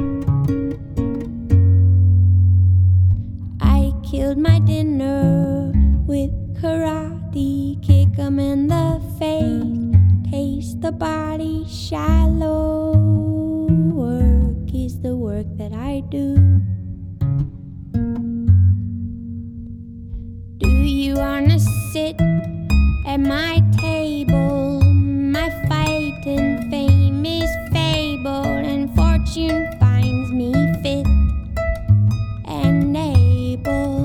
Killed my dinner with karate, kick 'em in the face, taste the body shallow. Work is the work that I do. Do you wanna sit at my table? My fighting fame is fabled, and fortune finds me fit and able.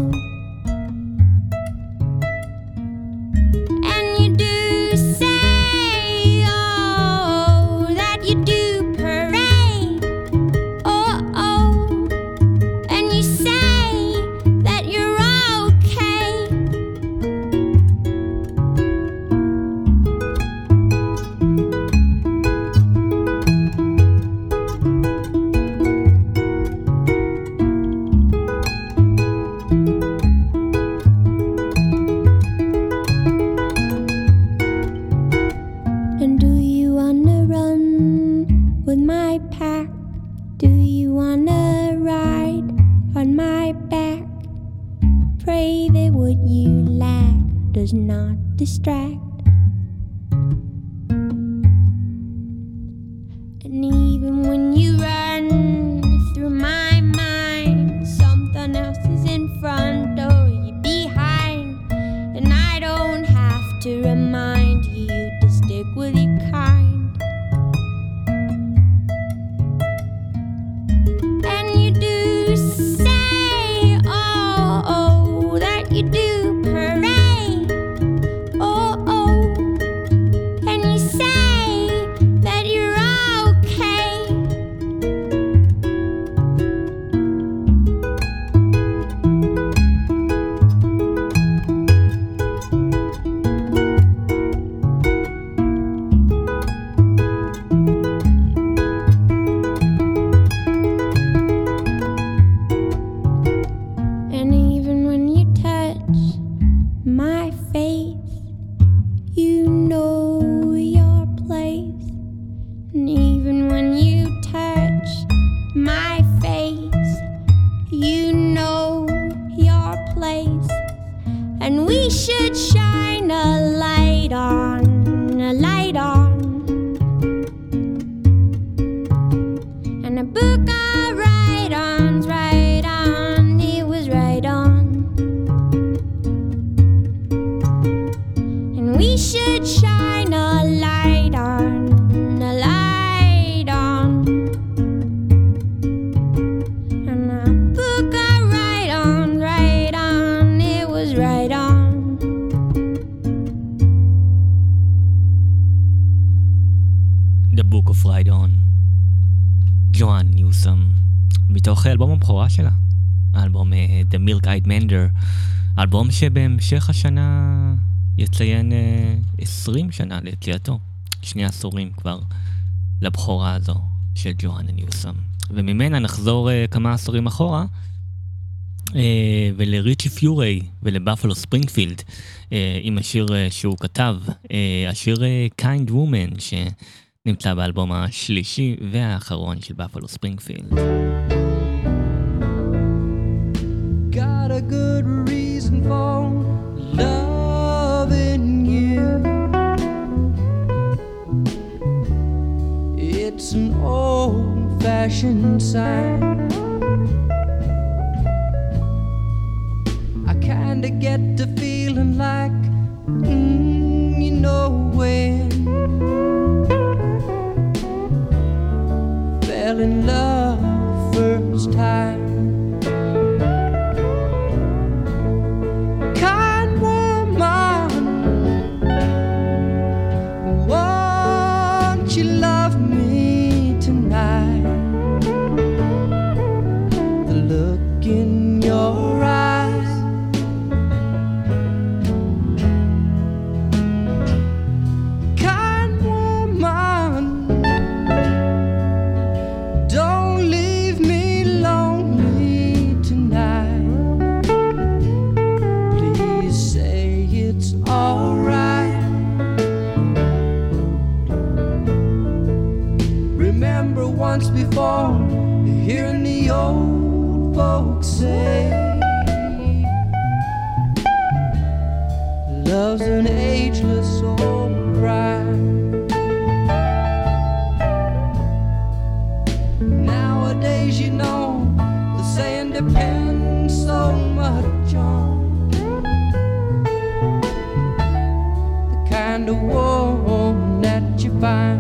And you do say, oh, that you do parade, oh, oh. And you say that you're okay. And do you wanna run with my pack? Do you wanna ride on my back? Pray that what you lack does not distract. And even when you run through my mind, something else is in front or you're behind. And I don't have to remind you to stick with your kind. And you do say, oh, oh, that you do parade, oh, oh. And you say that you're okay. And even when you touch my face, you know your place. And even when you touch my face, you know your place. And we should shine a light on, a light on. And a book I write on, it was right on. And we should shine a light on, a light on. And a book I write on, it was right on. Move Right On. ג'ואן ניוסם, מתוך האלבום הבכורה שלה, האלבום The Milk Eyed Mender, האלבום שבהמשך השנה יציין 20 שנה ליציאתו, 2 עשורים כבר לבכורה הזו של ג'ואן ניוסם. וממנה נחזור כמה עשורים אחורה, ולריצ'י פיורי ולבאפלו ספרינגפילד, עם השיר שהוא כתב, השיר Kind Woman, שנמצא באלבום השלישי והאחרון של באפלו ספרינגפילד. Got a good reason for loving you. It's an old-fashioned sign. I kinda get to feeling like, you know when. Fell in love first time. Once before, hearing the old folks say, love's an ageless old crime. Nowadays, you know, the saying depends so much on the kind of woman that you find.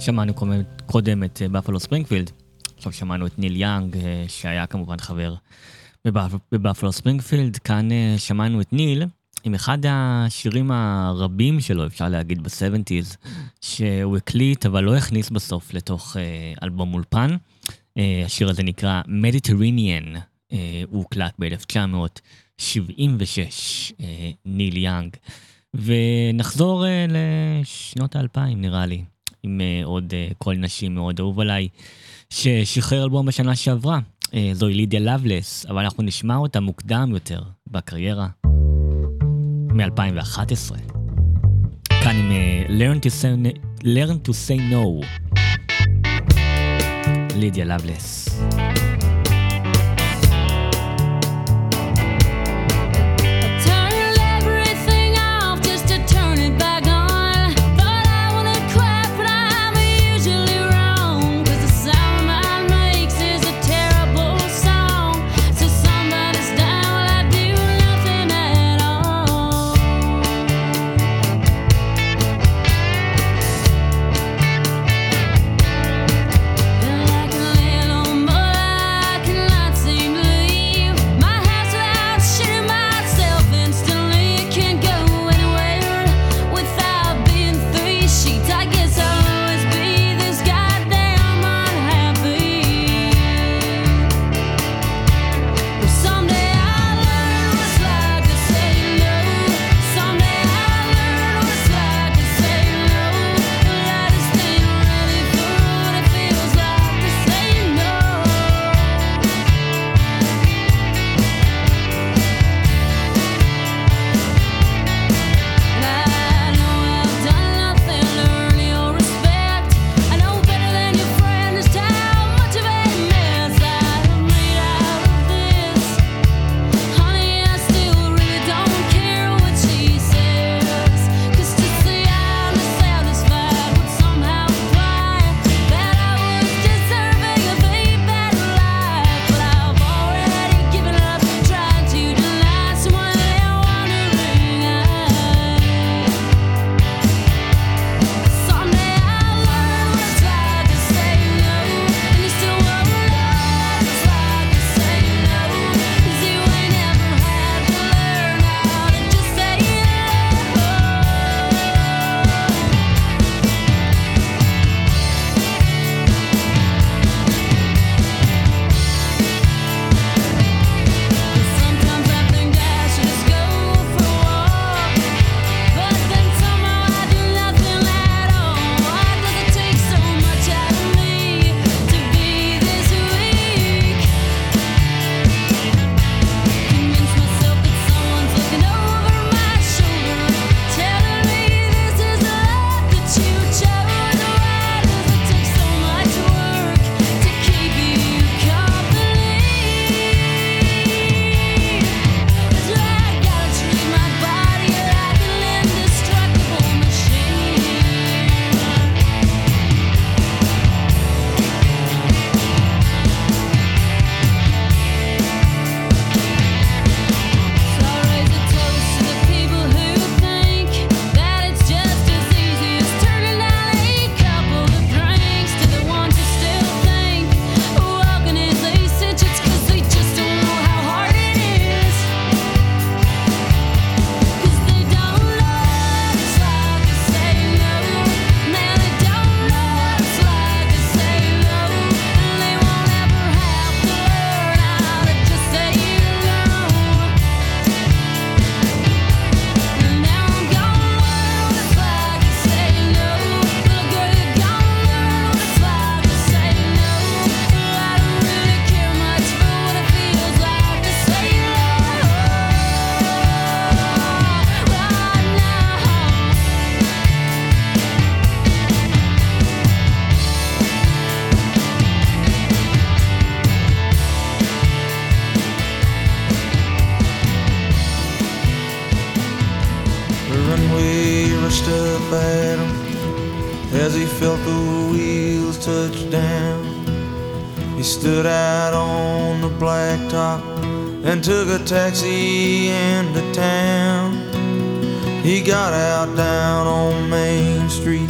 שמענו קודם את בפלו ספרינגפילד, עכשיו שמענו את ניל יאנג, שהיה כמובן חבר בבפלו ספרינגפילד. כאן שמענו את ניל עם אחד השירים הרבים שלו, אפשר להגיד, ב-70s, שהוא הקליט אבל לא הכניס בסוף לתוך אלבום אולפן. השיר הזה נקרא Mediterranean, הוא הוקלט ב-1976, ניל יאנג. ונחזור לשנות ה-2000 נראה לי, עם עוד קול נשים מאוד אהוב עליי, ששחרר אלבום בשנה שעברה, זוהי לידיה לבלס, אבל אנחנו נשמע אותה מוקדם יותר בקריירה, מ-2011. כאן עם Learn to say no, לידיה לבלס. as he felt the wheels touch down. He stood out on the blacktop and took a taxi into town. He got out down on Main Street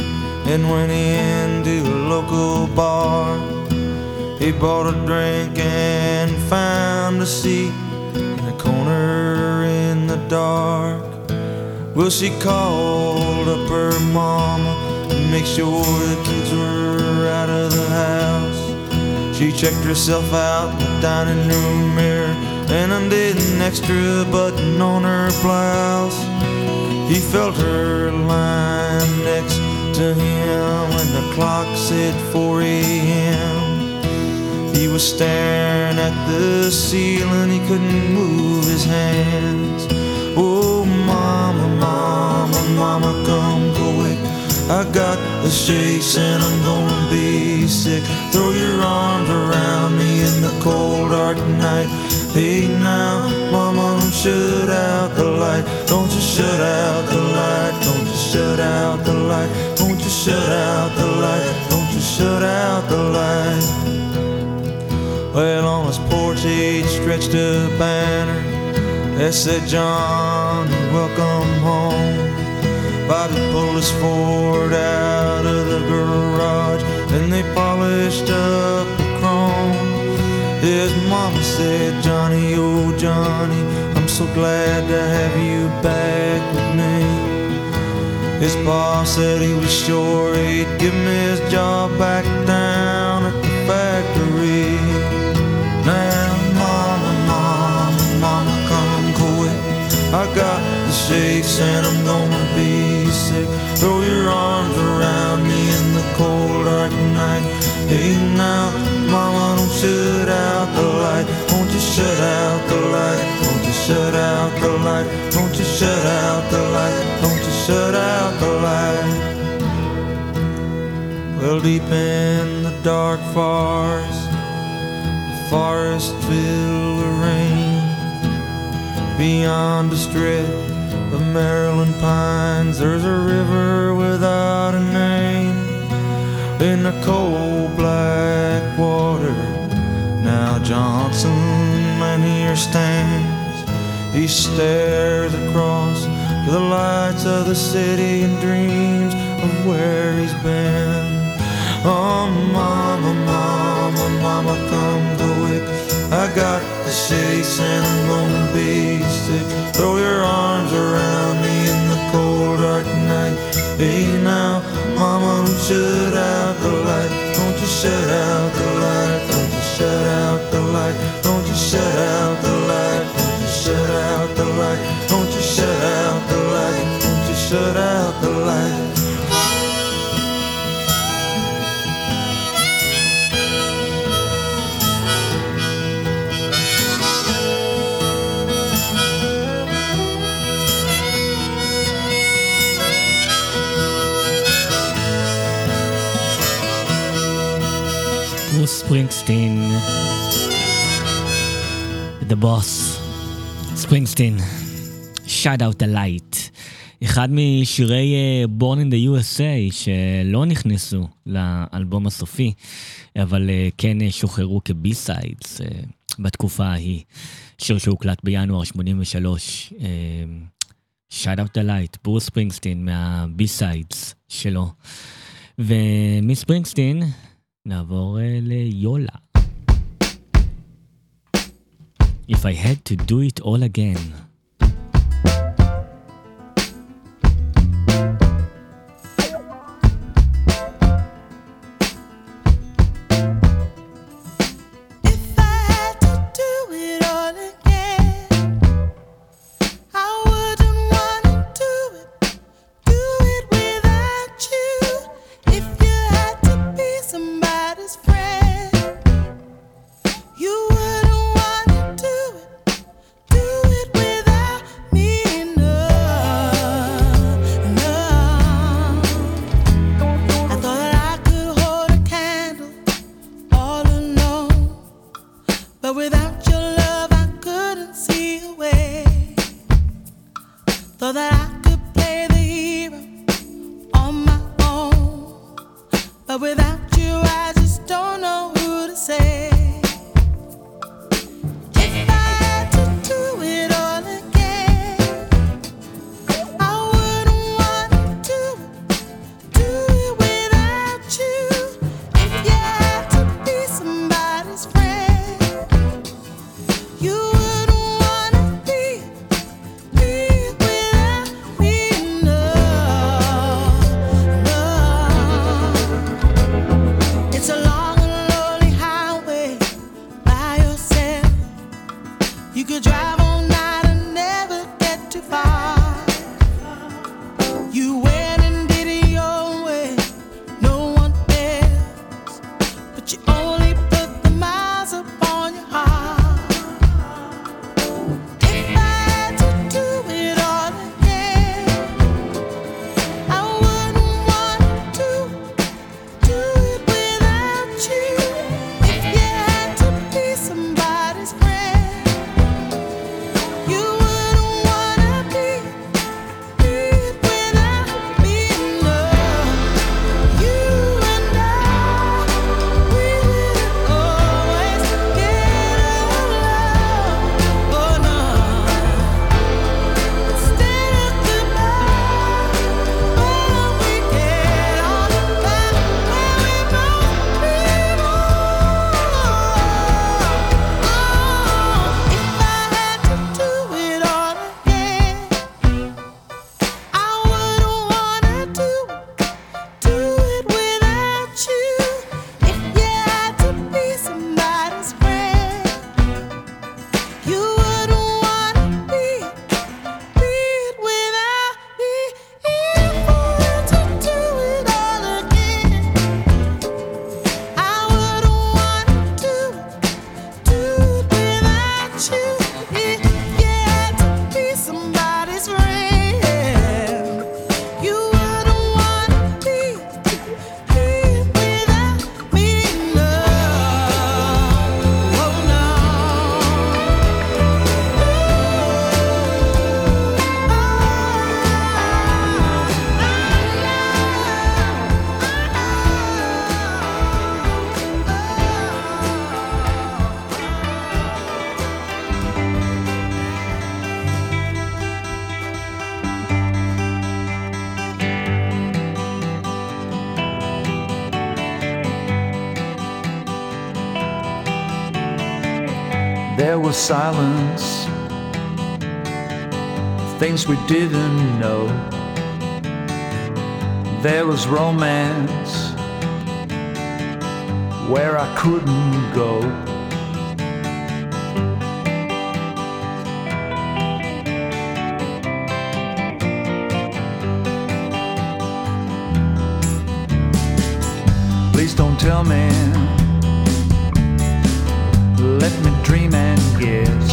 and went into a local bar. He bought a drink and found a seat in a corner in the dark. Well, she called up her mama to make sure the kids were out of the house. She checked herself out in the dining room mirror and undid an extra button on her blouse. He felt her lying next to him when the clock said 4 a.m. He was staring at the ceiling, he couldn't move his hands. Oh, mama, mama, mama, come quick. I got the shakes and I'm gonna be sick. Throw your arms around me in the cold dark night. Hey now, mama, don't shut out the light. Don't you shut out the light. Don't you shut out the light. Don't you shut out the light. Don't you shut out the light. Well, on his porch he'd stretched a banner that said, John, welcome home. Bobby pulled his Ford out of the garage and they polished up the chrome. His mama said, Johnny, oh Johnny, I'm so glad to have you back with me. His boss said he was sure he'd give me his job back down at the factory. Now, mama, mama, mama, come quick. I got the shakes and I'm gonna be sick. Throw your arms around me in the cold dark night. Hey now, mama, don't shut out the light. Won't you shut out the light? Won't you shut out the light? Won't you shut out the light? Won't you shut out the light? Well, deep in the dark forest, the forest filled with rain. Beyond the strip of Maryland pines, there's a river without a name. In the cold black water, now Johnson man here stands. He stares across to the lights of the city and dreams of where he's been. Oh, mama, mama, mama, come quick. I got the shakes and I'm gonna be sick. Throw your arms around me in the cold dark night. Hey now, mama, don't shut out the light. Don't you shut out the light. Don't you shut out the light. Don't you shut out the light. Don't you shut out the light. Don't you shut out the light. Don't you shut out the light. ברוס ספרינגסטין, The Boss, ספרינגסטין, Shut Out the Light, אחד משירי Born in the USA שלא נכנסו לאלבום הסופי, אבל כן שוחררו כבי-סיידס בתקופה ההיא, שיר שהוקלט בינואר 83, Shut Out the Light, ברוס ספרינגסטין מהבי-סיידס שלו. ומספרינגסטין נעבור ליולה. If I had to do it all again. With You could drive all night and never get too far. You went and did it your way, no one else. But you only put the miles upon your heart. If I had to do it all again, I wouldn't want to do it without you. If you had to be somebody's friend, you wouldn't wanna be it without me. No, you and I, we didn't always get along. Oh no, instead of goodbye, why don't we get on back where we both belong? If I had to do it all again, I wouldn't wanna do it without you. If you had to be somebody's friend, you wouldn't wanna be it without me. If I had to do it all again, I wouldn't wanna do it without you. If you had to be somebody's friend, you wouldn't wanna be it without me. No, oh no. There was silence, things we didn't know. There was romance where I couldn't go. Please don't tell me, let me dream and guess.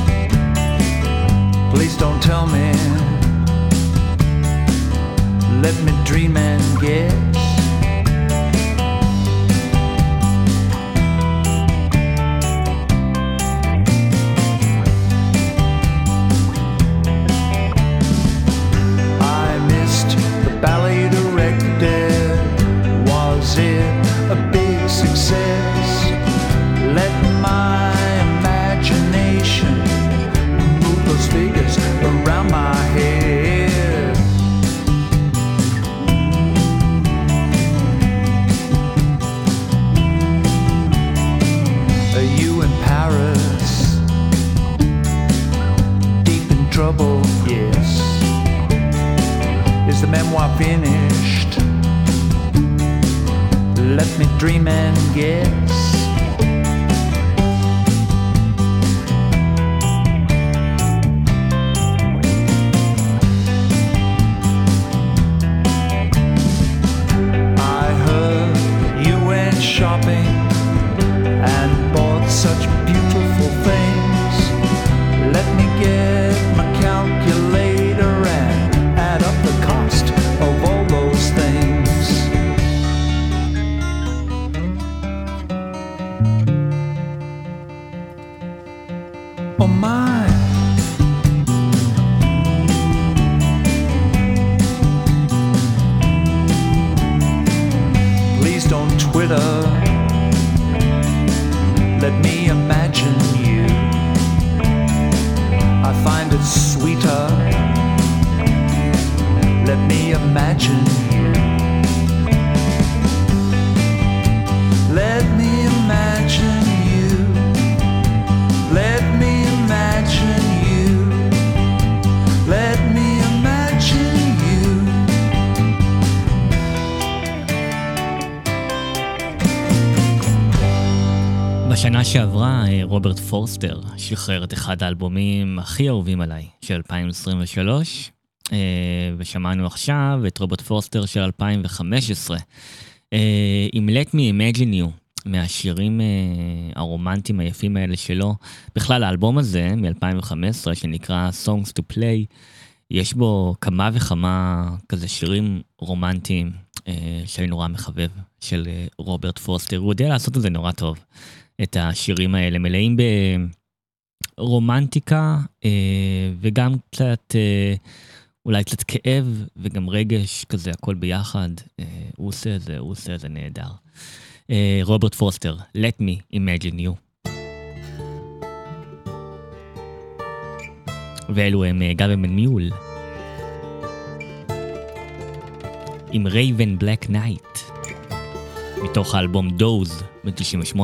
Please don't tell me, let me dream and guess. I missed the ballet directed. Was it a big success? Let my imagination move those figures around my head. Are you in Paris? Deep in trouble, yes. Is the memoir finished? Let me dream and guess. I heard you went shopping and bought such beautiful things. Let me get my calculator and add up the cost of all those things. Oh my. Please don't Twitter. Let me imagine you. I find it sweeter. Let me imagine you. Let me imagine you. Let me imagine שעברה רוברט פורסטר שחרר את אחד האלבומים הכי אהובים עליי של 2023, ושמענו עכשיו את רוברט פורסטר של 2015 עם Let Me Imagine You, מהשירים הרומנטיים היפים האלה שלו. בכלל האלבום הזה מ-2015 שנקרא Songs to Play, יש בו כמה וכמה כזה שירים רומנטיים שאני נורא מחבב של רוברט פורסטר. הוא יודע לעשות את זה נורא טוב. את השירים האלה מלאים ברומנטיקה וגם קצת, אולי קצת כאב וגם רגש כזה, הכל ביחד. הוא עושה את זה נהדר. רוברט פורסטר, Let Me Imagine You. ואלו הם גאברמן מיול עם Raven Black Knight מתוך האלבום דוז ב-98.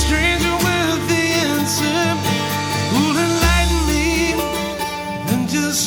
Just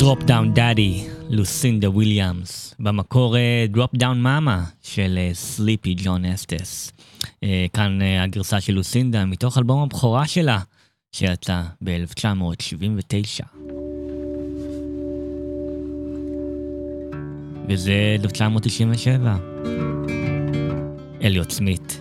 Drop Down Daddy, לוסינדה וויליאמס, במקור Drop Down Mama של סליפי ג'ון אסטס. כאן הגרסה של לוסינדה מתוך אלבום הבכורה שלה שיצא ב-1979. וזה 1997. אליוט סמית.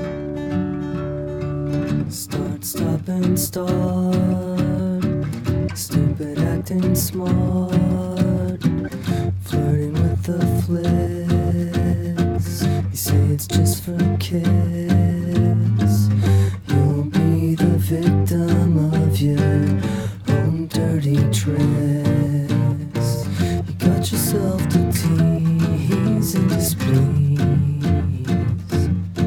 Start, stop and start. Stupid acting smart. Flirting with the flicks. You say it's just for kids. You'll be the victim of your own dirty tricks. You got yourself to tease and displease.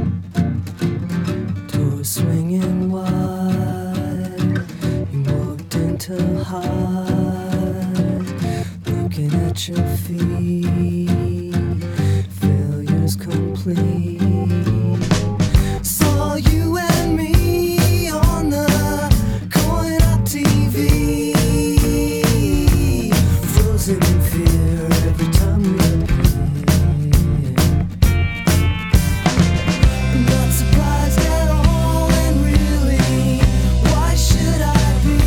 Door swinging wide. You walked into hide. Looking at your feet. Failure's complete. Saw you and me on the coin up TV. Frozen in fear every time we appear. Not surprised at all, and really, why should I be?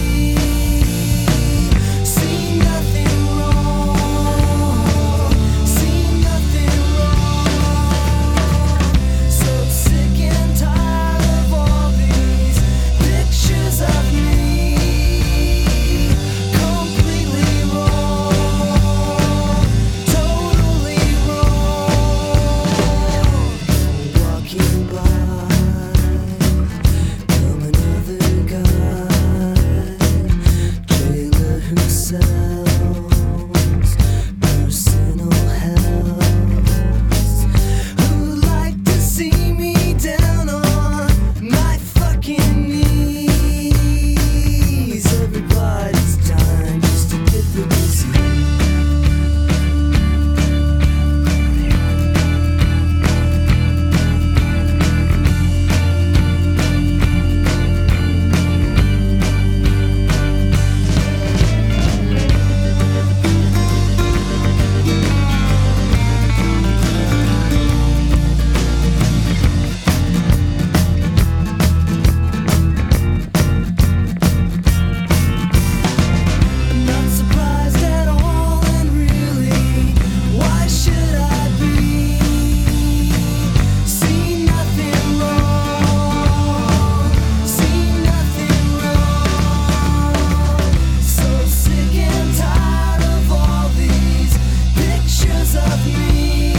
See nothing wrong, see nothing wrong. So sick and tired of all these pictures of me. Completely wrong, totally wrong. Walking by, come another guy, jailer who sells personal hells, who'd like to see me down on my fucking knees. Everybody's dying just to get the disease. Not surprised at all, and really, why should I be? See nothing wrong, see nothing wrong. So sick and tired of all these pictures of me.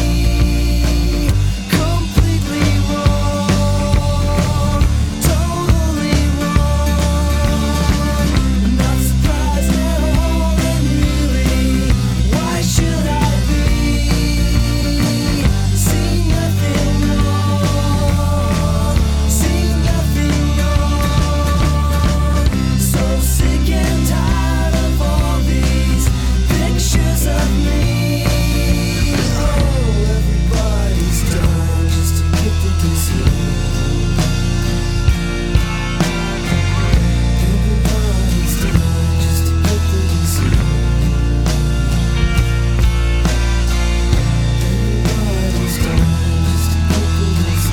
Completely wrong, totally wrong. Not surprised at all, and really, why should I be? See nothing wrong, see nothing wrong. So sick and tired of all these pictures of me. Oh, everybody's dying just to get the disease. Everybody's dying just to get the disease. Everybody's dying just to get the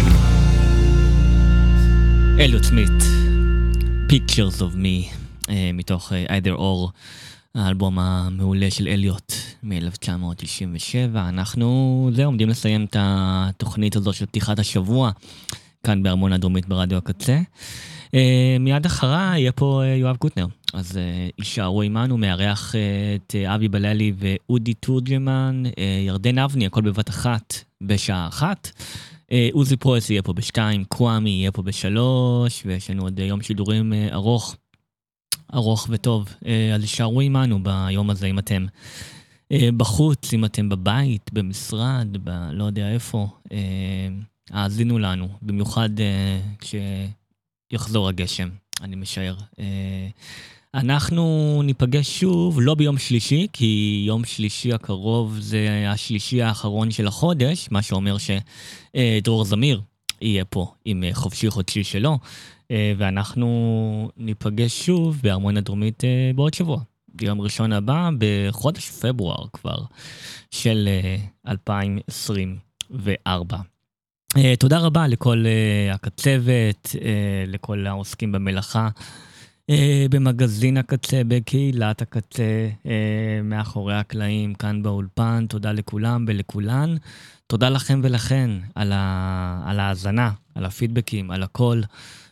disease. אליוט סמית, Pictures of Me, מתוך Either Or, האלבום המעולה של אליוט מ-1997. אנחנו עומדים לסיים את התוכנית הזו של פתיחת השבוע, כאן בארמון הדרומית ברדיו הקצה. מיד אחרה יהיה פה יואב קוטנר, אז יישארו עימנו, מארח את אבי בללי ואודי תורג'מן, ירדן אבני, הכל בבת אחת בשעה 1. עוזי פרויס יהיה פה ב2, קוואמי יהיה פה ב3, ויש לנו עוד יום שידורים ארוך וטוב. אז יישארו עימנו ביום הזה, אם אתם בחוץ, אם אתם בבית, במשרד, לא יודע איפה, האזינו לנו, במיוחד כשיחזור הגשם, אני משער. אנחנו ניפגש שוב, לא ביום שלישי, כי יום שלישי הקרוב זה השלישי האחרון של החודש, מה שאומר שדרור זמיר יהיה פה עם חופשי חודשי שלו, ואנחנו ניפגש שוב בארמון הדרומית בעוד שבוע, יום ראשון הבא, בחודש פברואר כבר, של 2024. תודה רבה לכל הקצבת, לכל העוסקים במלאכה, במגזין הקצה, בקהילת הקצה, מאחורי הקלעים, כאן באולפן. תודה לכולם ולכולן. תודה לכם ולכן על ההאזנה, על הפידבקים, על הכל.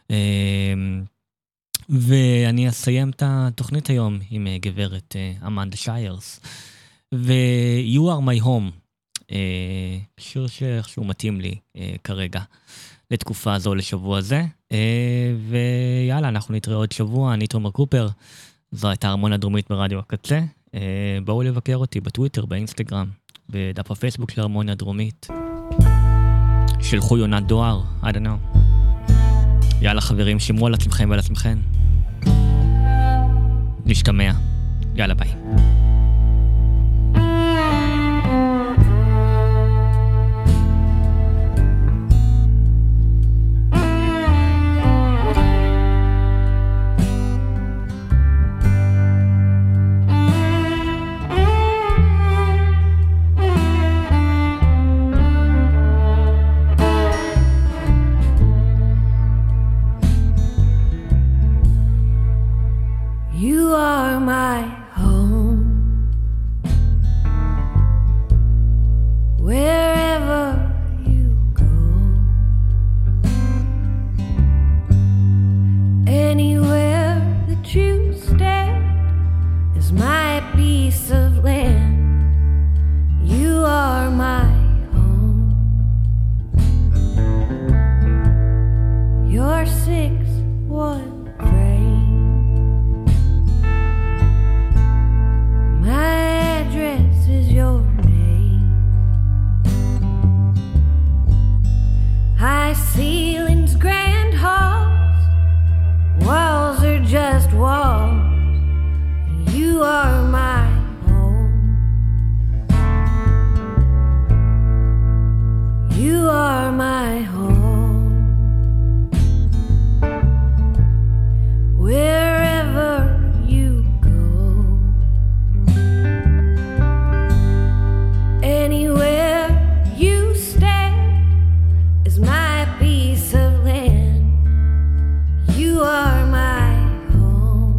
ואני אסיים את התוכנית היום עם גברת אמנדה שיירס. ו-You are my home. שיר שאיכשהו מתאים לי כרגע לתקופה הזו, לשבוע הזה. ויאללה, אנחנו נתראה עוד שבוע. אני תומר קופר, זו הייתה הרמוניה הדרומית ברדיו הקצה. בואו לבקר אותי בטוויטר, באינסטגרם, בדף הפייסבוק של הרמוניה הדרומית. שלחו יונת דואר, I don't know. יאללה חברים, שמרו על עצמכם ועל עצמכם. נשתמע. יאללה ביי. You are my home. Wherever you go, anywhere that you stand is my piece of land. You are my home. Your 6-1 my address is your name. High ceilings, grand halls, walls are just walls. You are my home. You are my home. Wherever you anywhere you stand is my piece of land. You are my home.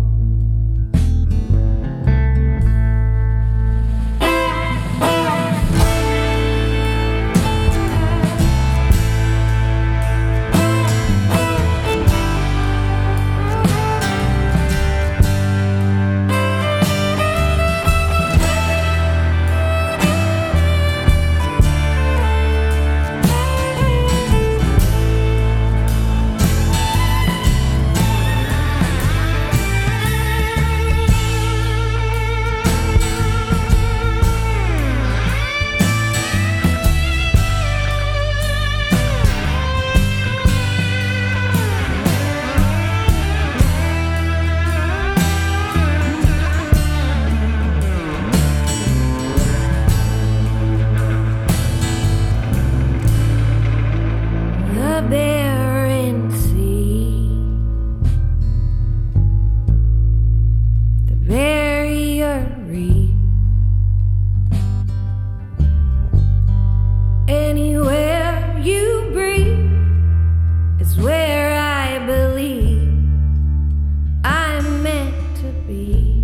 Where I believe I'm meant to be.